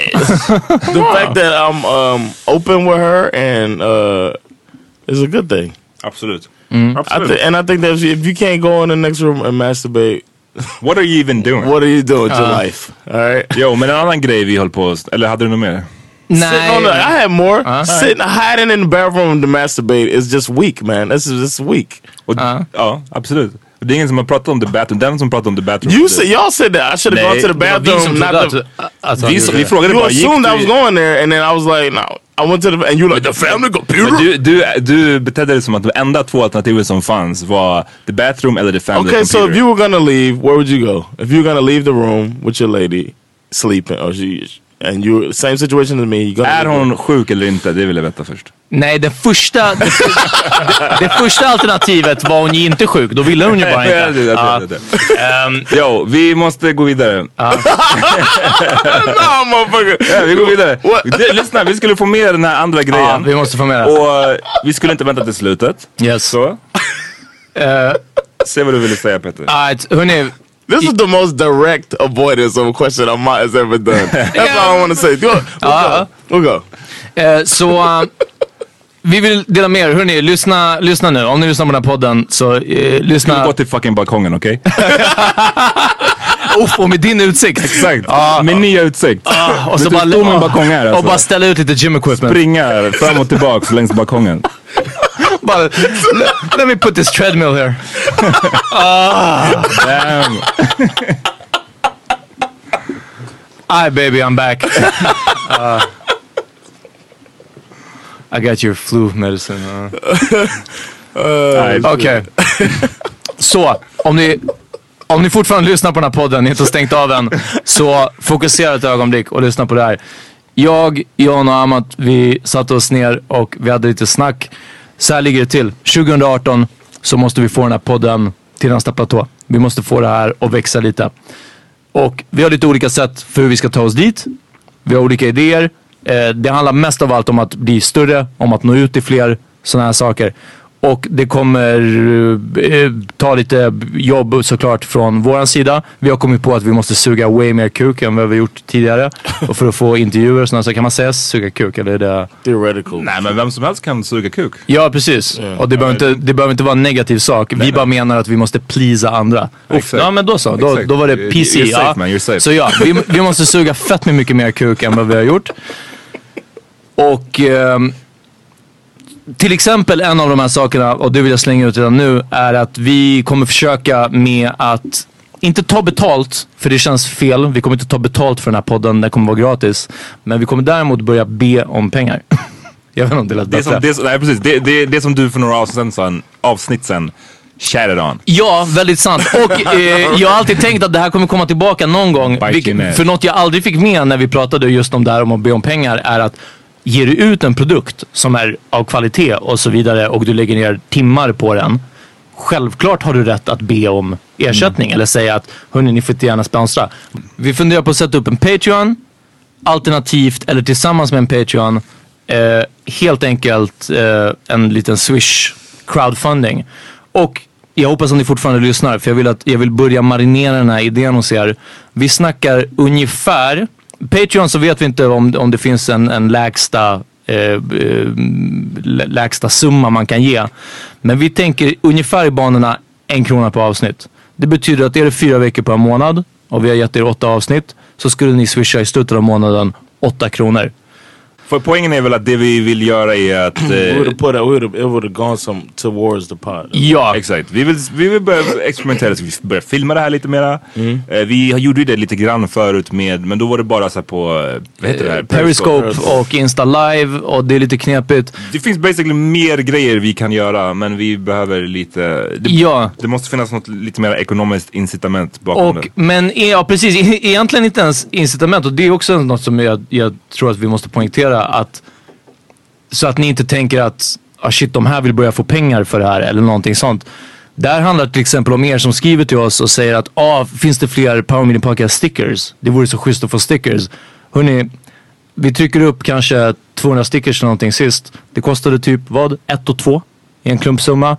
that the fact that I'm um, open with her and uh, is a good thing. Absolut. Mm. Absolut. I th- and I think that if you, if you can't go in the next room and masturbate, what are you even doing? What are you doing with uh. your life? All right. Jo, men en annan grej vi höll på, eller hade du något mer? Sitting on the, I had more. Uh, Sitting, right. Hiding in the bathroom to masturbate is just weak, man. This is just weak. Och, uh. Ja, absolut. Det är ingen som har pratat om the bathroom. Den som pratar om the bathroom. You said, y'all said that. I should have gone to the bathroom. Not the, alltså, vi, vi frågade you bara. You assumed I was going there and then I was like, no. I went to the, and you like, the family computer? Du, du, du betedde dig som att de enda två alternativen som fanns var the bathroom eller the family okay, computer. Okay, so if you were gonna leave, where would you go? If you were gonna leave the room with your lady sleeping, or she, and you, same situation as me. Är hon sjuk eller inte? Det vill jag veta först. Nej, det första det, det, det första alternativet var hon ju inte sjuk. Då ville hon ju bara inte. det, det, uh, det, det. Um, jo, vi måste gå vidare. Uh. No, motherfucker. Ja, vi går vidare. Det, lyssna, vi skulle få med den här andra grejen. Ja, vi måste få med det. Och uh, vi skulle inte vänta till slutet. Yes. Så. uh, Se vad du ville säga, Peter. Alright, hörni. This is the most direct avoidance of a question I might has ever done. That's yeah. all I want to say. Go, we'll uh, go. We'll go. Uh, så uh, vi vill dela med er. Hörrni, lyssna, lyssna nu. Om ni lyssnar på den här podden så uh, lyssna. Du ska gå till fucking balkongen, okej? Okay? Uff, och med din utsikt. Exakt. Uh, med nya utsikt. Uh, och så bara stå med en balkong här, alltså. Och bara ställa ut lite gym equipment. Springa fram och tillbaka längs balkongen. Bara, let, let me put this treadmill here. Ah, damn. Hi baby, I'm back. Uh, I got your flu medicine. Uh. uh, Okej. Okay. Så, om ni om ni fortfarande lyssnar på den här podden, ni inte har stängt av den, så fokusera ett ögonblick och lyssna på det här. Jag, Jan och Amat, vi satte oss ner och vi hade lite snack. Så här ligger det till. tjugo arton så måste vi få den här podden till nästa platå. Vi måste få det här att växa lite. Och vi har lite olika sätt för hur vi ska ta oss dit. Vi har olika idéer. Eh, det handlar mest av allt om att bli större, om att nå ut till fler sådana här saker. Och det kommer eh, ta lite jobb såklart från våran sida. Vi har kommit på att vi måste suga way mer kuk än vad vi har gjort tidigare. Och för att få intervjuer och sådana så kan man säga suga kuk eller är det... Theoretical. Nej, men vem som helst kan suga kuk. Ja, precis. Yeah. Och det behöver, inte, det behöver inte vara en negativ sak. Nej, vi nej. bara menar att vi måste pleasa andra. Exakt. Ja, men då så. Då, då var det P C. You're safe, man. You're safe. Så ja, vi, vi måste suga fett med mycket mer kuk än vad vi har gjort. Och... Eh, till exempel en av de här sakerna, och det vill jag slänga ut redan nu, är att vi kommer försöka med att inte ta betalt, för det känns fel. Vi kommer inte ta betalt för den här podden, den kommer vara gratis. Men vi kommer däremot börja be om pengar. Jag vet inte om det lät bättre. Det, som, det, nej, precis. Det, det, det som du för några avsnitt sen, avsnitt sen chatted on. Ja, väldigt sant. Och eh, jag har alltid tänkt att det här kommer komma tillbaka någon gång. Vilket, för något jag aldrig fick med när vi pratade just om det här om att be om pengar är att ger du ut en produkt som är av kvalitet och så vidare och du lägger ner timmar på den, självklart har du rätt att be om ersättning mm. eller säga att hörni, ni får inte gärna sponsra. Vi funderar på att sätta upp en Patreon alternativt eller tillsammans med en Patreon eh, helt enkelt eh, en liten Swish crowdfunding. Och jag hoppas att ni fortfarande lyssnar, för jag vill, att, jag vill börja marinera den här idén hos er. Vi snackar ungefär Patreon, så vet vi inte om, om det finns en, en lägsta, eh, lägsta summa man kan ge. Men vi tänker ungefär i banorna en krona per avsnitt. Det betyder att är det fyra veckor per månad och vi har gett er åtta avsnitt, så skulle ni swisha i slutet av månaden åtta kronor. För poängen är väl att det vi vill göra är att... Eh, we would have put a, we would have, it would have gone some towards the pod. Ja, exakt. Vi vill, vi vill börja experimentera, så vi börjar filma det här lite mera. Mm. Eh, vi gjorde ju det lite grann förut med, men då var det bara så här på, vad heter det här? Periscope, Periscope och Insta Live, och det är lite knepigt. Det finns basically mer grejer vi kan göra, men vi behöver lite... Det, ja. det måste finnas något lite mer ekonomiskt incitament bakom och, det. Men ja, precis. Egentligen inte ens incitament, och det är också något som jag, jag tror att vi måste poängtera. Att, så att ni inte tänker att ah shit, de här vill börja få pengar för det här eller någonting sånt. Där handlar det till exempel om er som skriver till oss och säger att ah, finns det fler Power Meeting Podcast stickers? Det vore så schysst att få stickers. Hörrni, vi trycker upp kanske tvåhundra stickers eller någonting sist. Det kostade typ vad? Ett och två i en klumpsumma.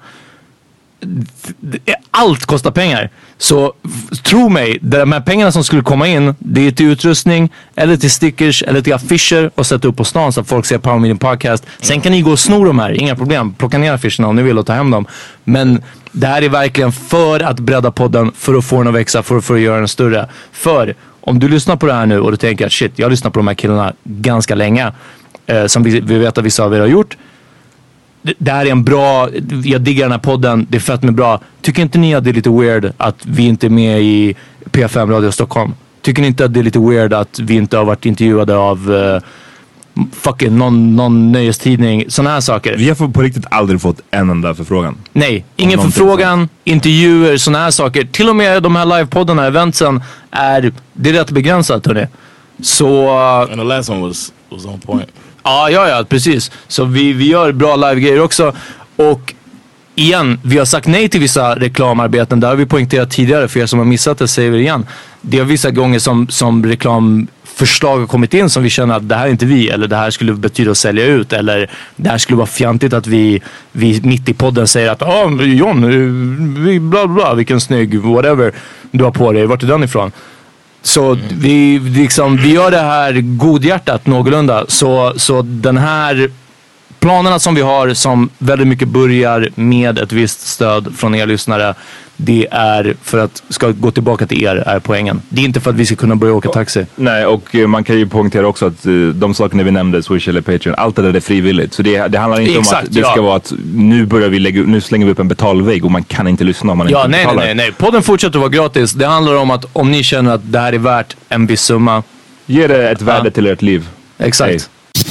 Allt kostar pengar. Så tro mig, de här pengarna som skulle komma in, det är till utrustning eller till stickers eller till affischer och sätta upp på stan så att folk ser Power Meeting Podcast. Sen kan ni gå och sno de här, inga problem. Plocka ner affischerna om ni vill och ta hem dem. Men det här är verkligen för att bredda podden, för att få den att växa, för, för att göra den större. För om du lyssnar på det här nu och du tänker att shit, jag lyssnar på de här killarna ganska länge, eh, som vi, vi vet att vissa av er har gjort. det, det här är en bra, jag diggar den här podden, det är fett med bra. Tycker inte ni att det är lite weird att vi inte är med i P fem Radio Stockholm? Tycker ni inte att det är lite weird att vi inte har varit intervjuade av uh, fucking någon, någon nöjestidning, sådana här saker? Vi har på riktigt aldrig fått en enda förfrågan. Nej, ingen förfrågan, så. Intervjuer, sådana här saker. Till och med de här livepoddarna, eventsen är, det är rätt begränsat, hörni. Så... Uh, And the last one was, was on point. Ja, ja, ja, precis. Så vi, vi gör bra live-grejer också. Och igen, vi har sagt nej till vissa reklamarbeten. Det har vi poängterat tidigare, för er som har missat det säger vi igen. Det är vissa gånger som, som reklamförslag har kommit in som vi känner att det här är inte vi, eller det här skulle betyda att sälja ut, eller det här skulle vara fjantigt att vi, vi mitt i podden säger att ja, ah, John, vi, bla bla, vilken snygg, whatever du har på dig, vart är den ifrån? Så mm. vi, liksom, vi gör det här godhjärtat någorlunda. Så, så den här planerna som vi har, som väldigt mycket börjar med ett visst stöd från er lyssnare, det är för att ska gå tillbaka till er, är poängen. Det är inte för att vi ska kunna börja åka taxi. Nej, och man kan ju poängtera också att de sakerna vi nämnde, Swish eller Patreon, allt det där är frivilligt. Så det, det handlar inte Exakt, om att det ja. ska vara att nu börjar vi lägga, nu slänger vi upp en betalvägg och man kan inte lyssna om man ja, inte nej, betalar. nej, nej, nej. Podden fortsätter att vara gratis. Det handlar om att om ni känner att det här är värt en viss summa, ge det ett värde ja. till ert liv. Exakt. Hey.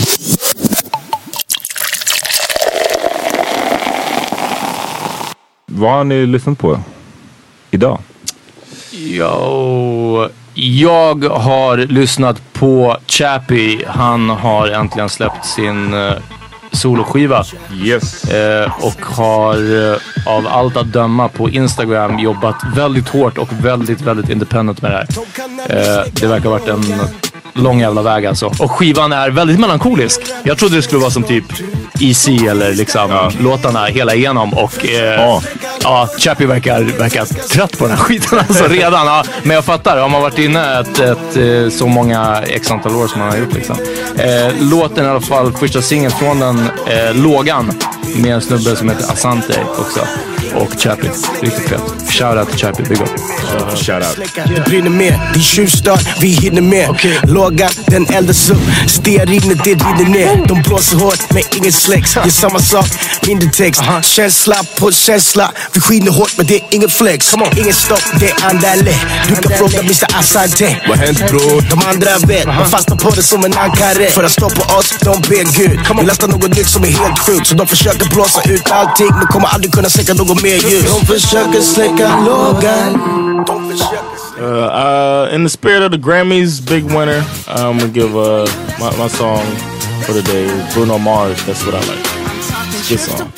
Vad har ni lyssnat på idag? Jo, jag har lyssnat på Chappie. Han har äntligen släppt sin uh, soloskiva. Yes. Uh, och har uh, av allt att döma på Instagram jobbat väldigt hårt och väldigt, väldigt independent med det här. Uh, det verkar ha varit en lång jävla väg alltså. Och skivan är väldigt melankolisk. Jag trodde det skulle vara som typ Easy eller liksom ja. låtarna hela igenom. Och eh, ja. ja, Chappie verkar, verkar trött på den här skiten alltså redan. Ja. Men jag fattar, har man varit inne ett, ett, ett, så många x antal år som man har gjort liksom. Eh, låten i alla fall, första singeln från den eh, lågan med en snubbe som heter Asante också. Och Chappie, riktigt fett. Shoutout till Chappie, big up. Uh, Shoutout. Det brinner mer, det är tjuvstart, vi hinner mer. Okay. Lågan, den eldas upp, stearinet det rinner ner. De blåser hårt, men ingen släcks. Det är samma sak, mindre text. uh-huh. Känsla på känsla, vi skiner hårt men det är ingen flex. Ingen stopp, det är andale. Du kan fråga mister Asante. Vad hänt bror? De andra vet, uh-huh. man fastnar på det som en ankare. För att stå på oss, de ber Gud. Vi lastar något nytt som är helt sjukt. Så de försöker blåsa ut allting, men kommer aldrig kunna säkra något mer ljus. De försöker släcka lågan. Uh, uh, in the spirit of the Grammys, big winner, I'm gonna give uh, my, my song for the day, Bruno Mars. That's what I like. Good song.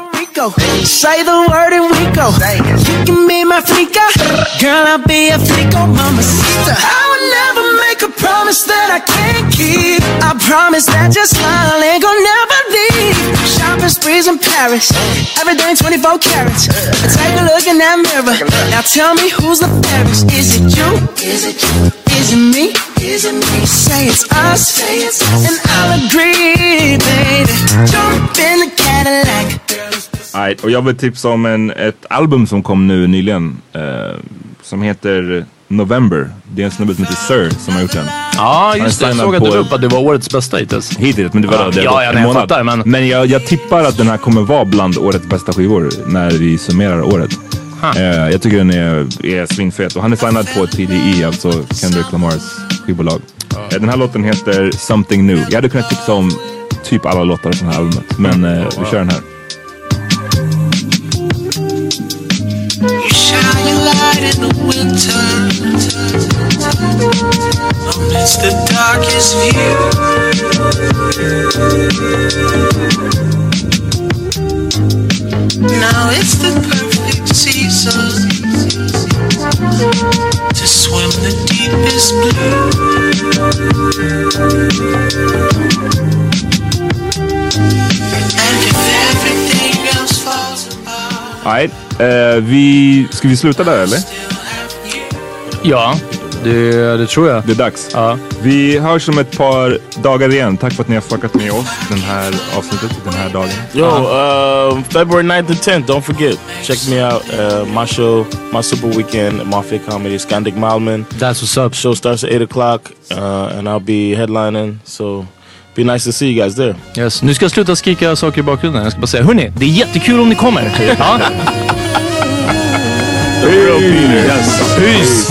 Say the word and we go. You can be my flica, girl, I'll be a flico, mama sister. I would never make a promise that I can't keep. I promise that your smile ain't gonna never leave. Shopping sprees in Paris, everything twenty-four carats. Take a look in that mirror. Now tell me who's the fairest? Is it you? Is it you? Is it me? Is it me? Say it's us, say it's us. And I'll agree, baby. Jump in the Cadillac. Nej, och jag vill tipsa om en, ett album som kom nu nyligen eh, som heter November. Det är en snubbe som heter Sir som har gjort den. Ja, just det. Jag såg att du upp att det var årets bästa hittills. Hittills, men det var ja, det ja, ja, en nej, månad. Fattar, men men jag, jag tippar att den här kommer vara bland årets bästa skivor när vi summerar året. Eh, jag tycker den är, är svinfet. Och han är signad på T D E, alltså Kendrick Lamars skivbolag. Eh, den här låten heter Something New. Jag hade kunnat tipsa om typ alla låtar från det här albumet. Men eh, vi kör den här. Shine your light in the winter amidst the darkest view. Now it's the perfect season to swim the deepest blue. And if everything else falls apart. Nej, eh, vi, ska vi sluta där eller? Ja, det, det tror jag. Det är dags. Ja. Vi hörs om ett par dagar igen. Tack för att ni har fuckat med oss den här avsnittet, den här dagen. Yo, uh, February ninth and tenth, don't forget. Check me out. Uh, my show, my super weekend at Mafia Comedy, Skandik Malmen. That's what's up. Show starts at eight o'clock uh, and I'll be headlining. So Be nice to see you guys there. Yes. Nu ska jag sluta skrika saker i bakgrunden. Jag ska bara säga, hörni, det är jättekul om ni kommer. Ja. The real Peter. Yes. Peace.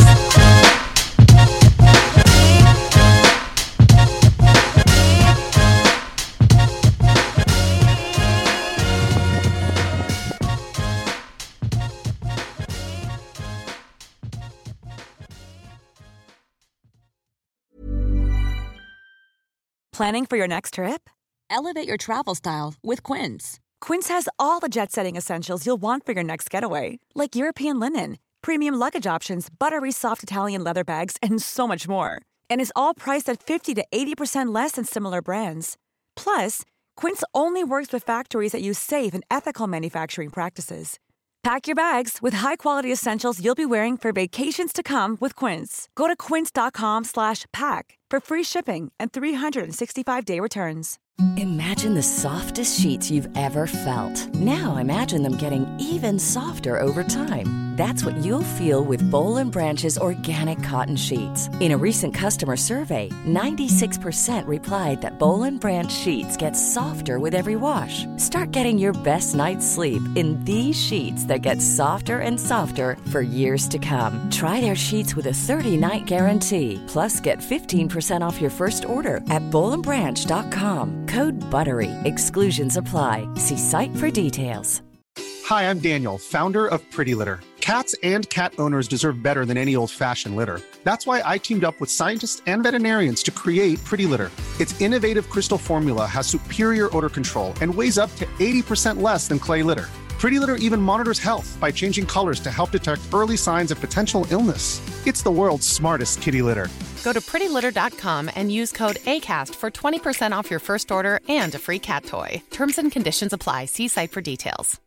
Planning for your next trip? Elevate your travel style with Quince. Quince has all the jet-setting essentials you'll want for your next getaway, like European linen, premium luggage options, buttery soft Italian leather bags, and so much more. And is all priced at fifty to eighty percent less than similar brands. Plus, Quince only works with factories that use safe and ethical manufacturing practices. Pack your bags with high-quality essentials you'll be wearing for vacations to come with Quince. Go to quince.com slash pack for free shipping and three sixty-five day returns. Imagine the softest sheets you've ever felt. Now imagine them getting even softer over time. That's what you'll feel with Boll and Branch's organic cotton sheets. In a recent customer survey, ninety-six percent replied that Boll and Branch sheets get softer with every wash. Start getting your best night's sleep in these sheets that get softer and softer for years to come. Try their sheets with a thirty-night guarantee. Plus, get fifteen percent off your first order at boll and branch dot com. Code BUTTERY. Exclusions apply. See site for details. Hi, I'm Daniel, founder of Pretty Litter. Cats and cat owners deserve better than any old-fashioned litter. That's why I teamed up with scientists and veterinarians to create Pretty Litter. Its innovative crystal formula has superior odor control and weighs up to eighty percent less than clay litter. Pretty Litter even monitors health by changing colors to help detect early signs of potential illness. It's the world's smartest kitty litter. Go to pretty litter dot com and use code ACAST for twenty percent off your first order and a free cat toy. Terms and conditions apply. See site for details.